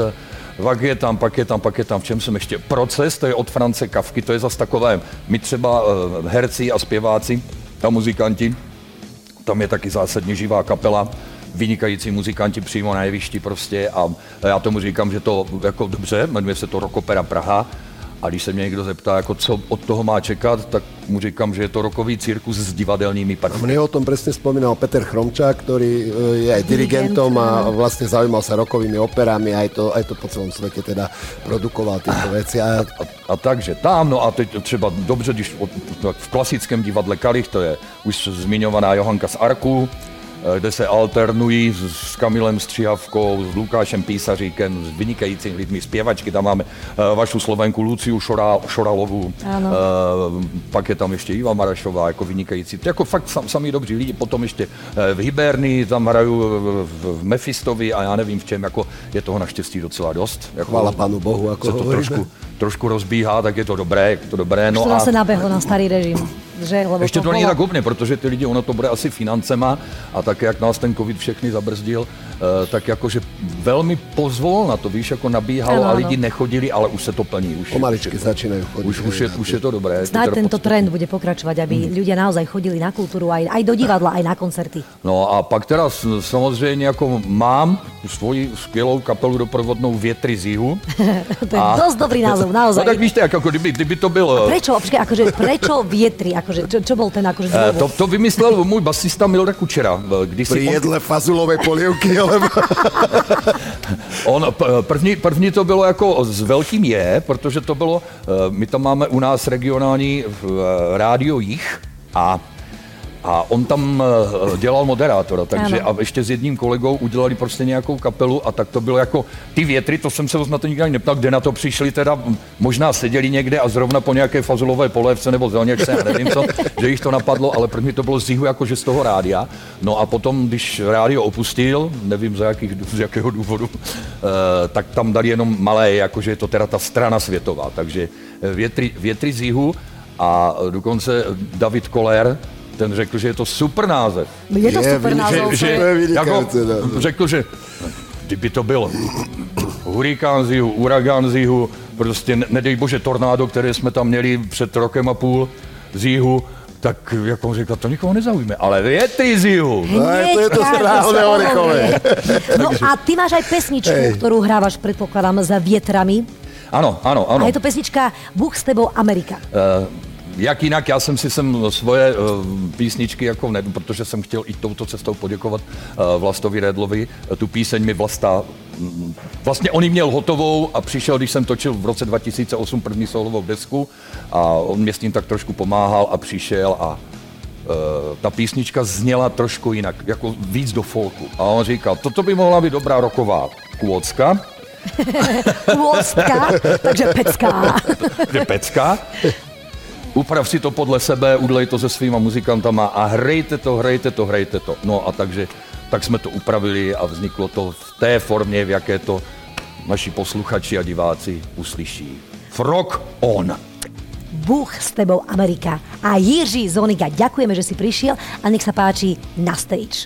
E: Pak je tam, v čem jsem ještě? Proces, to je od France Kafky, to je zase takové, my třeba herci a zpěváci a muzikanti, tam je taky zásadně živá kapela, vynikající muzikanti přímo na jevišti prostě a já tomu říkám, že to jako dobře, jmenuje se to Rockopera Praha a když se mě někdo zeptá, jako co od toho má čekat, tak mu říkám, že je to rockový cirkus s divadelnými prvky. Mne
F: o tom presne spomínal Peter Chromčák, ktorý je aj dirigentom a vlastne zaujímal sa rockovými operami, aj to po celom svete teda produkoval tieto veci. A
E: takže tam, no a teď třeba dobře, když v klasickém divadle Kalich, to je už zmiňovaná Johanka z Arku, kde se alternují s Kamilem Střihavkou, s Lukášem Písaříkem, s vynikajícími lidmi, zpěvačky, tam máme vašu Slovenku Luciu Šoralovou, pak je tam ještě Iva Marašová, jako vynikající, jako fakt sami dobří lidi, potom ještě v Hibernii, tam hraju v Mefistovi a já nevím v čem, jako je toho naštěstí docela dost. Jako,
F: chvála Pánu Bohu, jako
E: se to trošku rozbíhá, tak je to dobré, no
A: a se nabehlo na starý režim. Že,
E: ještě to není tak úplně, protože ty lidi, ono to bude asi financema a tak, jak nás ten covid všechny zabrzdil, tak jakože velmi pozvolna to, víš, jako nabíhalo a lidi nechodili, ale už se to plní.
F: Pomaličky začínají chodit.
E: Už je to dobré.
A: Snáď tento trend bude pokračovať, aby ľudia naozaj chodili na kultúru, aj do divadla, aj na koncerty.
E: No a pak teda samozřejmě jako mám svoji skvělou kapelu doprovodnou Větry z jihu.
A: To je dosť dobrý názov, naozaj.
E: No tak víš, jako kdyby to bylo...
A: Prečo Větry? Čo bol ten akože dôvod?
E: To vymyslel můj basista Milda Kučera.
F: Pri jedle fazulové polievky, alebo...
E: První to bylo jako s velkým J, protože to bylo, my tam máme u nás regionální rádio Jich a on tam dělal moderátora, takže a ještě s jedním kolegou udělali prostě nějakou kapelu a tak to bylo jako ty Větry, to jsem se na to nikdy neptal, kde na to přišli teda, možná seděli někde a zrovna po nějaké fazulové polévce nebo zelněčce, já nevím co, že jich to napadlo, ale první to bylo z Jihu jakože z toho rádia, no a potom, když rádio opustil, nevím z jakého důvodu, tak tam dali jenom malé, jakože je to teda ta strana světová, takže Větry z Jihu a dokonce David Koller, ten řekl, že je to super název.
A: Je to super název.
E: Řekl, že kdyby to bylo hurikán z jihu, uragán z jihu, prostě nedej bože tornádo, které jsme tam měli před rokem a půl z jihu, tak jak on řekl, to nikoho nezaujíme, ale Větry z jihu.
F: To je to správne orechové.
A: No a ty máš aj pesničku, ktorú hrávaš, predpokladám, za Vietrami.
E: Áno.
A: A je to pesnička Bůh s tebou Amerika.
E: jak jinak, já jsem si sem svoje písničky, jako ne, protože jsem chtěl i touto cestou poděkovat Vlastovi Redlovi. Tu píseň mi Vlasta, vlastně on ji měl hotovou a přišel, když jsem točil v roce 2008 první solovou desku a on mě s tím tak trošku pomáhal a přišel a ta písnička zněla trošku jinak, jako víc do folku. A on říkal, toto by mohla být dobrá rocková kôcka.
A: Kôcka, takže pecká.
E: Takže pecka. Uprav si to podle sebe, udělej to se svýma muzikantama a hrajte to. No a tak jsme to upravili a vzniklo to v té formě, v jaké to naši posluchači a diváci uslyší. Rock on!
A: Bůh s tebou Amerika. A Jiří Zoniga, ďakujeme, že si prišiel a nech sa páči na stage.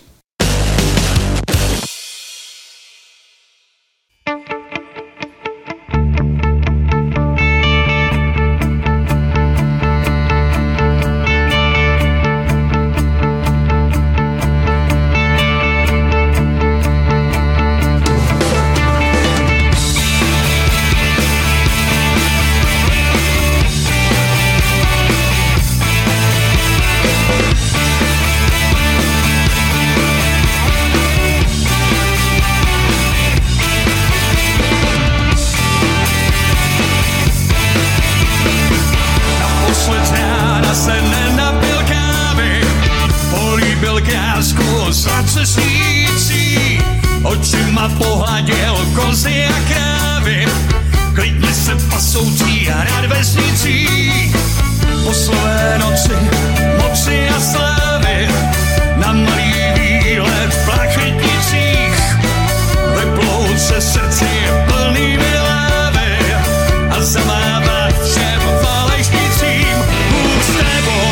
D: Očima pohladil kozy a krávy, klidně se pasoucí a rád vesnicí. Po slové noci, moci a slávy, na malý výlet v Plachetnicích. Vyplout se srdci plnými lávy a zamávat všem falešnicím. Bůh s tebou,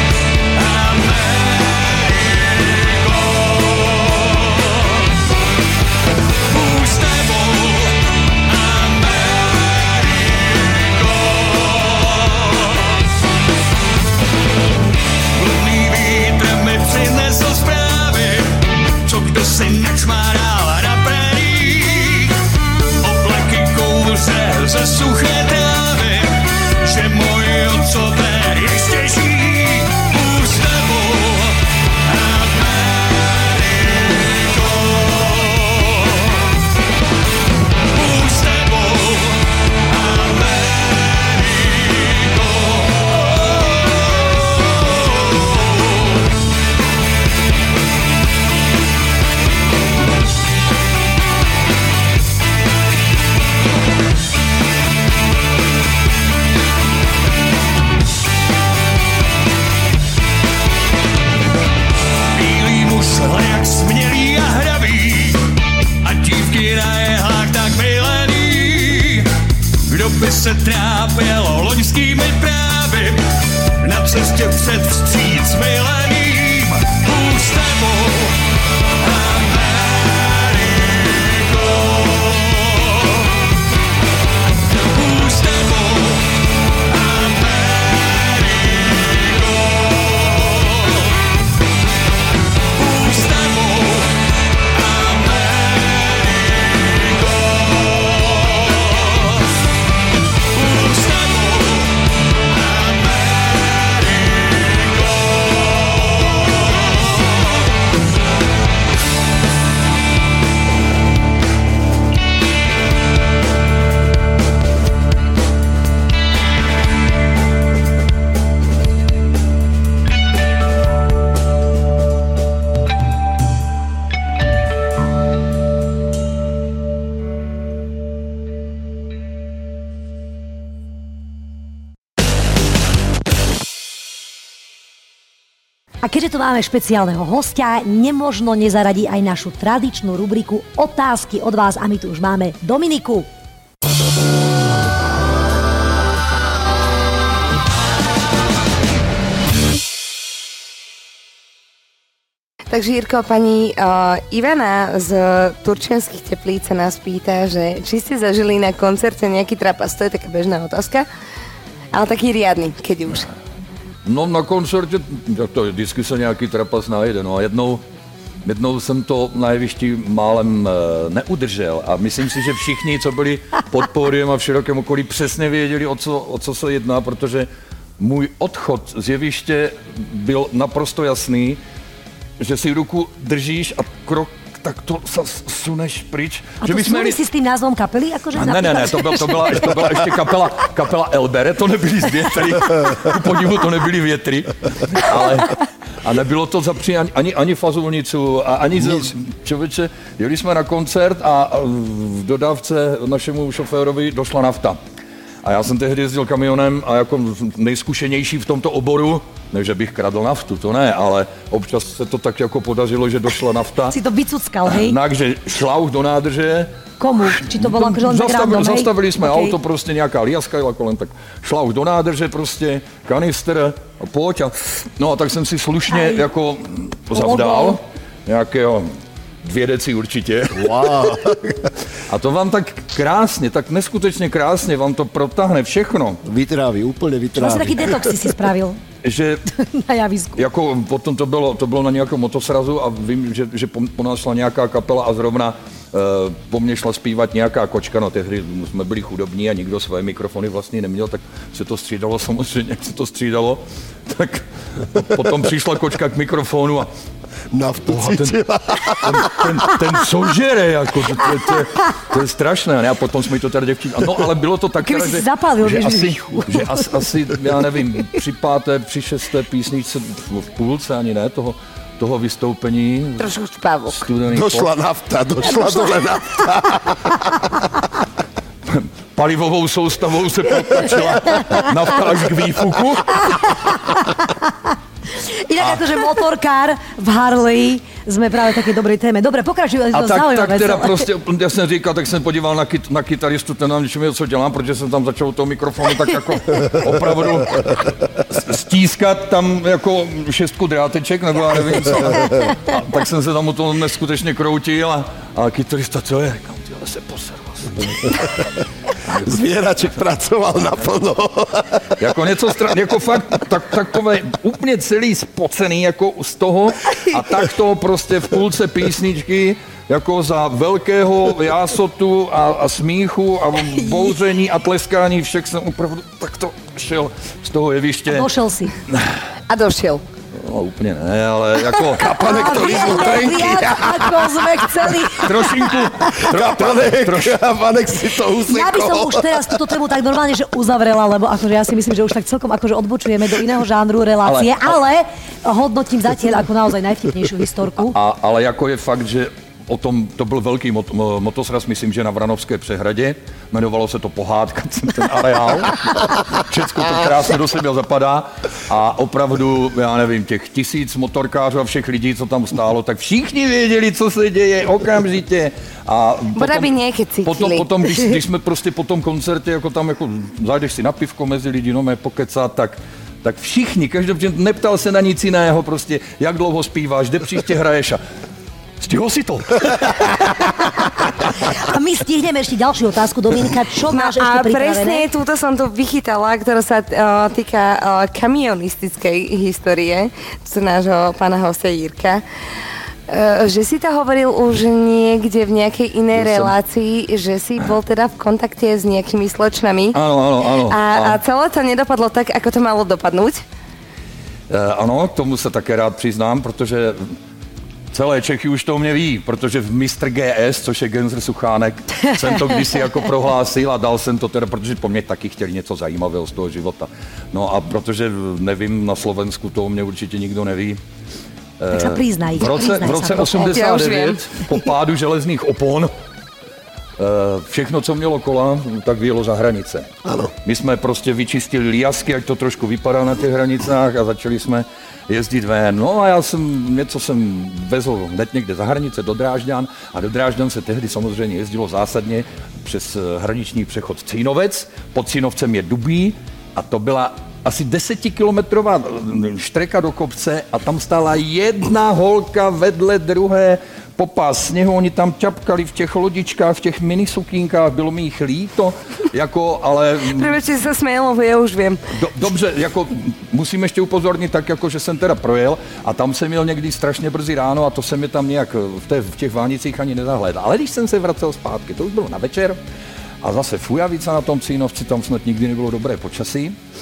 D: přinesl zprávy, co kdo si načmáral na praiích. Oblaky kouře ze suché trávy, že můj otcové ještě žijí. Bůh s tebou, Ameriko. Bůh s tebou, Ameriko. Jak smělý a hravý a dívky na jehlách tak milený. Kdo by se trápil loňskými právy na cestě před vstříc mileným. Bůh s tebou, Ameriko. Bůh s tebou, Ameriko. Bůh s tebou, Ameriko. Bůh s tebou, Ameriko.
A: A keďže tu máme špeciálneho hostia, nemožno nezaradiť aj našu tradičnú rubriku Otázky od vás a my tu už máme Dominiku.
G: Takže Jirko, pani Ivana z Turčianskych Teplíc sa nás pýta, že či ste zažili na koncerte nejaký trapas, to je taká bežná otázka, ale taký riadny, keď už.
E: No na koncertě, tak to vždycky se nějaký trapas najde, no a jednou jsem to na jevišti málem neudržel a myslím si, že všichni, co byli pod pódiem a v širokém okolí, přesně věděli, o co se jedná, protože můj odchod z jeviště byl naprosto jasný, že si ruku držíš a krok tak to sa suneš pryč.
A: A to súvisí s tým názvom kapely? Akože
E: ne, to byla ještě kapela Elbere, to nebyly z větry, ku podivu to nebyly větry, ale a nebylo to zapří ani fazulnicu, ani člověče, jeli jsme na koncert a v dodávce našemu šoférovi došla nafta. A já jsem tehdy jezdil kamionem a jako nejzkušenější v tomto oboru, ne, že bych kradl naftu, to ne, ale občas se to tak jako podařilo, že došla nafta.
A: Si to vycuckal, hej?
E: Takže šlauch do nádrže.
A: Komu? Či to bylo akože len tak random, hej?
E: Zastavili jsme auto, prostě nějaká liaska jela kolem, tak šlauch do nádrže prostě, kanister a pojď a no a tak jsem si slušně jako zavdal nějakého 2 deci určitě.
F: Wow.
E: A to vám tak krásně, tak neskutečně krásně vám to protáhne všechno.
F: Vytráví, úplně vytráví.
A: Vlastně taký detox si spravil.
E: Že
A: na javisku.
E: Jako potom to bylo na nějakém motosrazu a vím, že po nás šla nějaká kapela a zrovna po mně šla zpívat nějaká kočka, no tehdy jsme byli chudobní a nikdo svoje mikrofony vlastně neměl, tak se to střídalo samozřejmě, jak se to střídalo, tak potom přišla kočka k mikrofonu a ten co žere, jako, to je strašné, ne? A potom jsme to tady děvčí, no ale bylo to tak, že asi, já nevím, při 5., při 6. písničce, v půlce ani ne, toho vystoupení.
G: Trošku špavok.
F: Došla nafta, došla dole nafta.
E: Palivovou soustavou se potlačila nafta až k výfuku.
A: Inak akože motorkár v Harley sme práve také dobrej téme. Dobre, pokračuj, to zaujímavé.
E: Tak teda prostě, já jsem říkal, tak jsem podíval na kytaristu, ten nám ničím co dělám, protože jsem tam začal toho mikrofonu tak jako opravdu stískat tam jako 6 dráteček, nebo já nevím co. A tak jsem se tam u toho neskutečně kroutil a kytarista, co je? Říkám, tyhle se poser vlastně.
F: Zvieraček pracoval naplno.
E: Jako něco jako fakt takové úplně celý spocený jako z toho a tak to prostě v půlce písničky jako za velkého jásotu a smíchu a bouření a tleskání všech jsem opravdu takto šel z toho jeviště.
A: A došel si.
G: A došel.
E: No úplně ne, ale jako...
F: Kapanek to lízl trenky.
A: Ako sme chceli.
E: Trošinku.
F: Kapanek si to usekol.
A: Ja by som už teraz túto tému tak normálne, že uzavrela, lebo akože ja si myslím, že už tak celkom akože odbočujeme do iného žánru relácie, ale hodnotím zatiaľ ako naozaj najvtipnejšiu historku.
E: Ale jako je fakt, že o tom, to byl velký motosraz, myslím, že na Vranovské přehradě. Jmenovalo se to Pohádka, ten areál. Všecko to krásně do sebe zapadá. A opravdu, já nevím, těch 1000 motorkářů a všech lidí, co tam stálo, tak všichni věděli, co se děje okamžitě. A potom, když jsme prostě po tom koncertě, jako tam jako zajdeš si na pivko mezi lidi, no mé pokecat, tak všichni, každý neptal se na nic jiného, prostě jak dlouho zpíváš, kde příště hraješ a stihol si to.
A: A my stihneme ešte ďalšiu otázku, Dominika, čo máš ešte pripravené?
G: A presne túto som tu vychytala, ktorá sa týka kamionistickej histórie, to nášho pána hostia Jirka. Že si to hovoril už niekde v nejakej inej relácii, že si bol teda v kontakte s nejakými slečnami.
E: Áno.
G: A celé to nedopadlo tak, ako to malo dopadnúť?
E: Ano, k tomu se také rád přiznám, protože celé Čechy už to o mě ví, protože v Mr. GS, což je Gensr Suchánek, jsem to kdysi jako prohlásil a dal jsem to teda, protože po mně taky chtěli něco zajímavého z toho života. No a protože nevím, na Slovensku to o mě určitě nikdo neví.
A: Tak se přiznaj.
E: V roce 89 po pádu železných opon všechno, co mělo kola, tak vyjelo za hranice.
F: Ano.
E: My jsme prostě vyčistili líjasky, ať to trošku vypadá na těch hranicách a začali jsme jezdit ven. No a něco jsem vezl hned někde za hranice do Drážďan a do Drážďan se tehdy samozřejmě jezdilo zásadně přes hraniční přechod Cínovec. Pod Cínovcem je Dubí a to byla asi 10kilometrová štreka do kopce a tam stála jedna holka vedle druhé popás sněhu, oni tam ťapkali v těch lodičkách, v těch minisukínkách, bylo mi jich líto, jako, ale...
G: Prebeďte sa smělo, já už vím.
E: Dobře, jako musím ještě upozornit tak, jako, že jsem teda projel a tam jsem měl někdy strašně brzy ráno a to se mi tam nějak v těch Vánicích ani nezahlédal. Ale když jsem se vracel zpátky, to už bylo na večer a zase Fujavica na tom Cínovci, tam snad nikdy nebylo dobré počasí.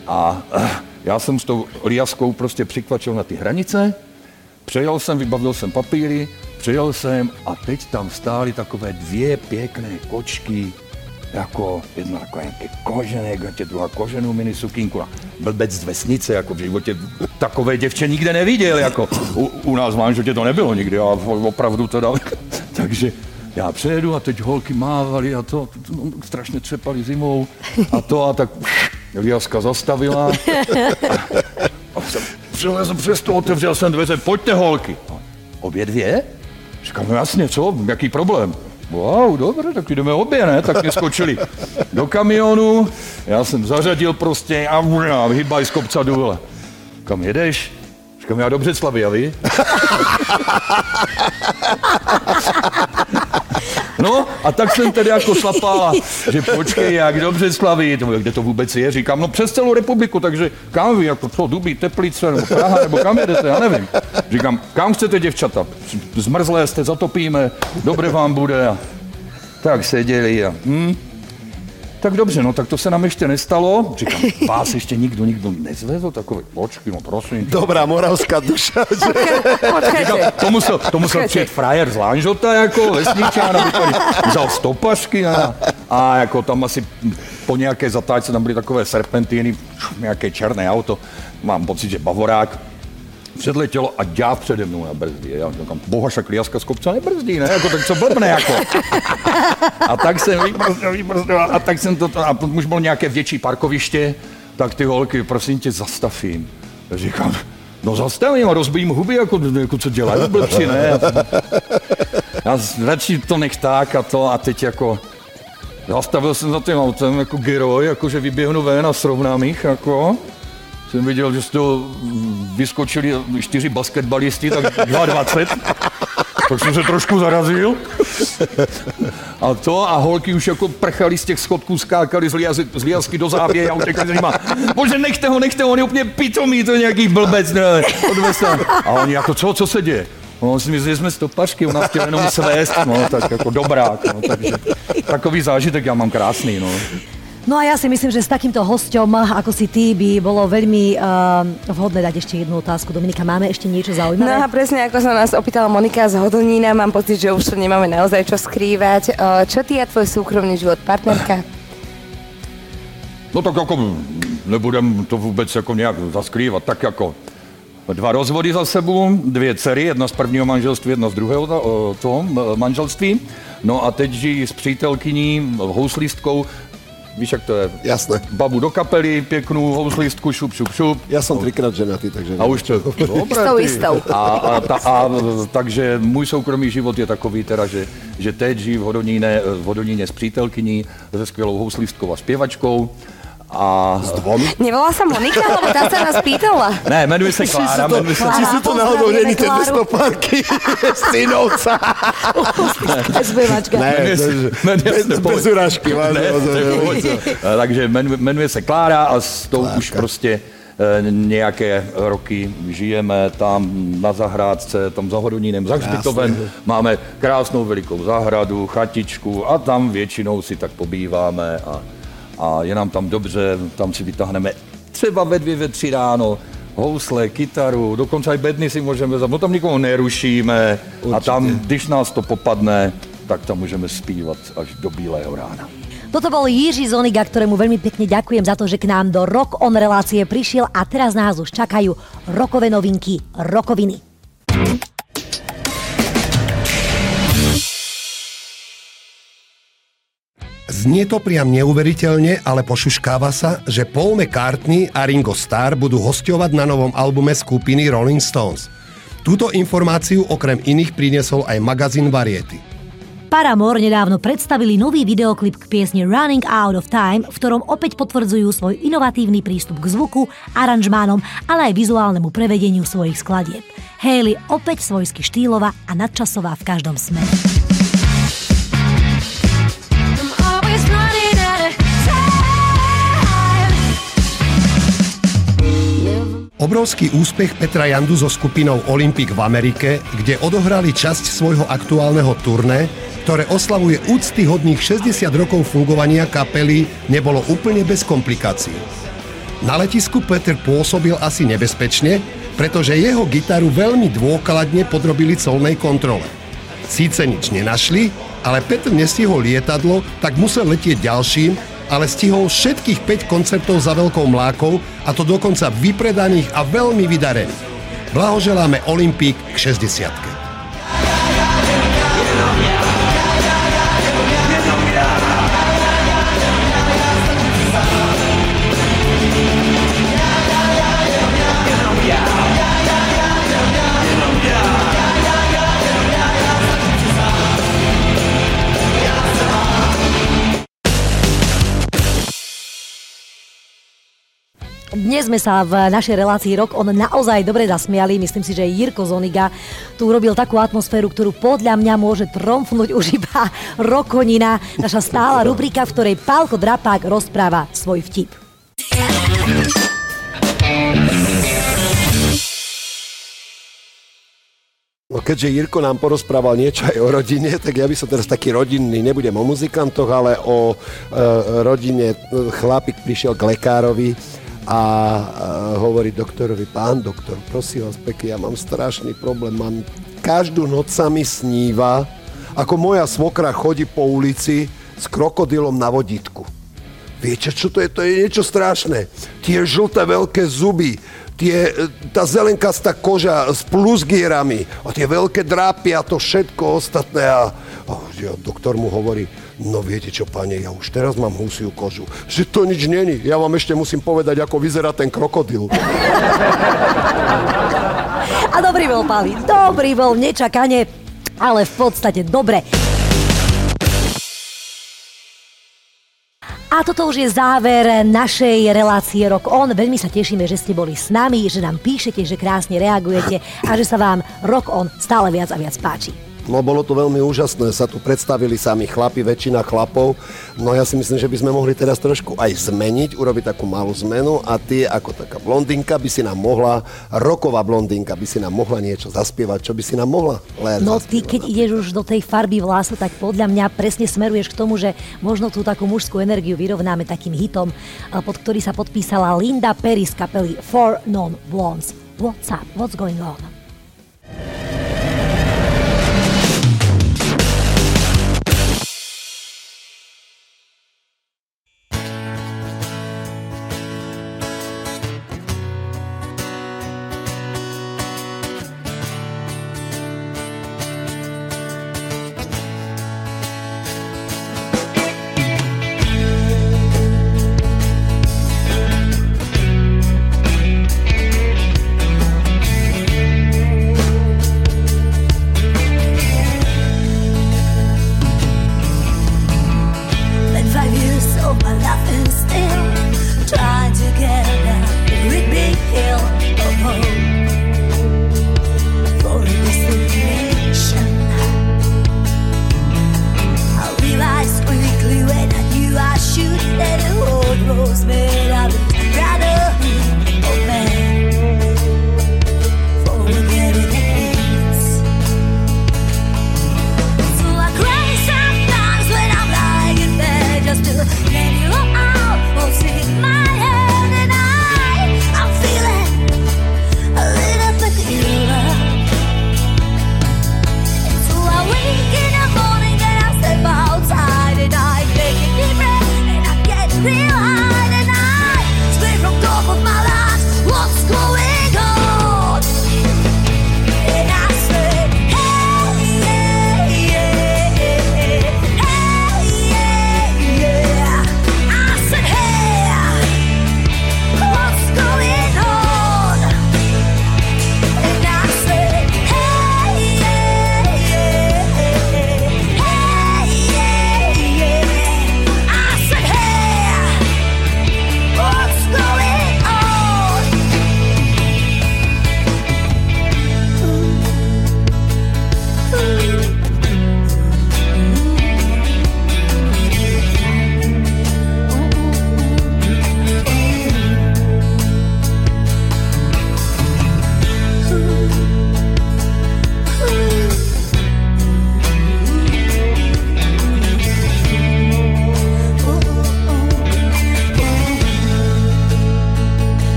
E: A já jsem s tou liaskou prostě přikvačil na ty hranice, přejel jsem, vybavil jsem papíry, přijel jsem a teď tam stály takové 2 pěkné kočky, jako jedna taková nějaké kožené, druhá koženou mini sukínku a blbec z vesnice, jako v životě takové děvče nikde neviděl, jako u nás v Manžotě to nebylo nikdy, a opravdu teda, takže já přejedu a teď holky mávali a to strašně třepali zimou a tak liaska zastavila a přilezl přes to, otevřel jsem dveře, pojďte holky. Obě 2? Říkám, no jasně, co, jaký problém? Wow, dobře, tak jdeme obě, ne? Tak mě skočili do kamionu, já jsem zařadil prostě a hýbaj z kopca důle. Kam jedeš? Říkám, já do Břeclavy, a vy? No a tak jsem tedy jako šlapala, že počkej, jak do Břeclaví, kde to vůbec je? Říkám, no přes celou republiku, takže kam vy, jako co, Dubí, Teplice, nebo Praha, nebo kam jedete, já nevím. Říkám, kam chcete, děvčata? Zmrzlé jste, zatopíme, dobré vám bude. A tak seděli a tak dobře, no tak to se nám ještě nestalo. Říkám, vás ještě nikdo nezvezl, takový, počkej, no prosím.
F: Dobrá moravská duša, že?
E: Říkám, to musel přijet frajer z Lanžota, jako vesničán, aby tady vzal stopařky a jako tam asi po nějaké zatáčce tam byly takové serpentíny, nějaké černé auto, mám pocit, že Bavorák, předletělo a ďáv přede mnou na brzdě. Já říkám, boha, však liaska z kopce nebrzdí, ne? Jako, tak co blbne, jako. A tak jsem vybrzdil, a tak jsem to, a už bylo nějaké větší parkoviště, tak ty holky, prosím tě, zastavím. Já říkám, no zastavím a rozbijím huby, jako co dělají blbci, ne? Já radši to nech tak a teď jako, zastavil jsem za tím autem jako geroj, jakože vyběhnu ven a srovnám jich, jako. Jsem viděl, že z toho vyskočili 4 basketbalisti, tak 22. Tak jsem se trošku zarazil. A holky už jako prchali z těch schodků, skákali z liasky do záběje a utekli za nima. Bože, nechte ho, on je úplně pitomý, to je nějaký blbec, ne, A oni jako, co se děje? No, si myslí, že jsme stopařky, u nás chtěl jenom svést, no, tak jako dobrák, no, takže takový zážitek já mám krásný, no.
A: No a ja si myslím, že s takýmto hosťom, ako si ty, by bolo veľmi vhodné dať ešte jednu otázku. Dominika, máme ešte niečo zaujímavé?
G: No a presne ako sa nás opýtala Monika z Hodonína, mám pocit, že už to nemáme naozaj čo skrývať. Čo ty a tvoj súkromný život, partnerka?
E: No tak jako nebudem to vůbec jako nějak zaskrývat, tak jako 2 rozvody za sebou, 2 dcery, jedna z prvního manželství, jedna z druhého manželství. No a teď žijí s přítelkyní, houslistkou. Víš, jak to je?
F: Jasné.
E: Babu do kapely, pěknou houslistku, šup.
F: Ja som 3-krát ženatý, takže...
E: A už to...
G: Istou.
E: Takže můj soukromý život je takový teda, že teď žijí v Hodoníne s přítelkyní, se skvělou houslistkou a zpěvačkou. A
F: s 2?
G: Nevolá sa Monika, lebo tá sa nás pýtala.
E: Ne, jmenuje se Klára.
F: Či sú to náhodou není tie 2 stopárky z Tynovca?
A: Zpěvačka.
F: Ne, bez urážky.
E: Takže jmenuje se Klára a s tou už prostě nějaké roky žijeme tam na zahrádce, tam za Hodonínem, za hřbitovem. Máme krásnou velikou zahradu, chatičku a tam většinou si tak pobýváme a je nám tam dobře, tam si vytáhneme třeba ve 2, ve 3 ráno housle, kytaru, dokonce i bedny si můžeme vzít, no tam nikoho nerušíme. Určitě. A tam, když nás to popadne, tak tam můžeme zpívat až do bílého rána.
A: Toto bol Jiří Zoniga, ktorému veľmi pekne ďakujem za to, že k nám do Rock On relácie prišiel a teraz nás už čakajú rokové novinky, rokoviny.
B: Znie to priam neuveriteľne, ale pošuškáva sa, že Paul McCartney a Ringo Starr budú hosťovať na novom albume skupiny Rolling Stones. Túto informáciu okrem iných priniesol aj magazín Variety.
A: Paramore nedávno predstavili nový videoklip k piesni Running Out of Time, v ktorom opäť potvrdzujú svoj inovatívny prístup k zvuku, aranžmánom, ale aj vizuálnemu prevedeniu svojich skladieb. Hayley opäť svojsky štýlová a nadčasová v každom smere.
B: Obrovský úspech Petra Jandu so skupinou Olympic v Amerike, kde odohrali časť svojho aktuálneho turné, ktoré oslavuje úctyhodných 60 rokov fungovania kapely, nebolo úplne bez komplikácií. Na letisku Peter pôsobil asi nebezpečne, pretože jeho gitaru veľmi dôkladne podrobili colnej kontrole. Síce nič nenašli, ale Peter nestihol lietadlo, tak musel letieť ďalším, ale stihol všetkých 5 koncertov za veľkou mlákou, a to dokonca vypredaných a veľmi vydarených. Blahoželáme Olympík k 60-ke.
A: Dnes sme sa v našej relácii Rock On naozaj dobre zasmiali. Myslím si, že Jirko Zoniga tu urobil takú atmosféru, ktorú podľa mňa môže tromfnúť už iba Rokonina, naša stála rubrika, v ktorej Pálko Drapák rozpráva svoj vtip.
F: No keďže Jirko nám porozprával niečo aj o rodine, tak ja by som teraz taký rodinný, nebudem o muzikantoch, ale o rodine. Chlapík prišiel k lekárovi a hovorí doktorovi: pán doktor, prosím vás pekne, ja mám strašný problém, každú noc sa mi sníva, ako moja svokra chodí po ulici s krokodilom na vodítku. Viete, čo to je? To je niečo strašné. Tie žlté veľké zuby, tá zelenkastá koža s plusgierami a tie veľké drápy a to všetko ostatné. A doktor mu hovorí: no viete čo, pane, ja už teraz mám husiu kožu. Že to nič není. Ja vám ešte musím povedať, ako vyzerá ten krokodil.
A: A dobrý bol, Pali. Dobrý bol, nečakane, ale v podstate dobre. A toto už je záver našej relácie Rock On. Veľmi sa tešíme, že ste boli s nami, že nám píšete, že krásne reagujete a že sa vám Rock On stále viac a viac páči.
F: No bolo to veľmi úžasné, sa tu predstavili sami chlapi, väčšina chlapov. No ja si myslím, že by sme mohli teraz trošku aj zmeniť, urobiť takú malú zmenu a ty ako taká blondinka by si nám mohla, rocková blondinka by si nám mohla niečo zaspievať, čo by si nám mohla zaspievať.
A: No ty keď ideš už do tej farby vlásu, tak podľa mňa presne smeruješ k tomu, že možno tú takú mužskú energiu vyrovnáme takým hitom, pod ktorý sa podpísala Linda Perry z kapely Four Non Blondes. What's up? What's going on?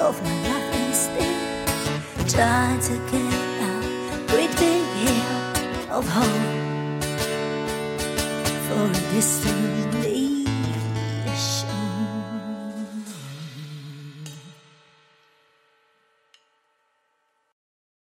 H: of my life and still trying to get out great big hill of hope for a distant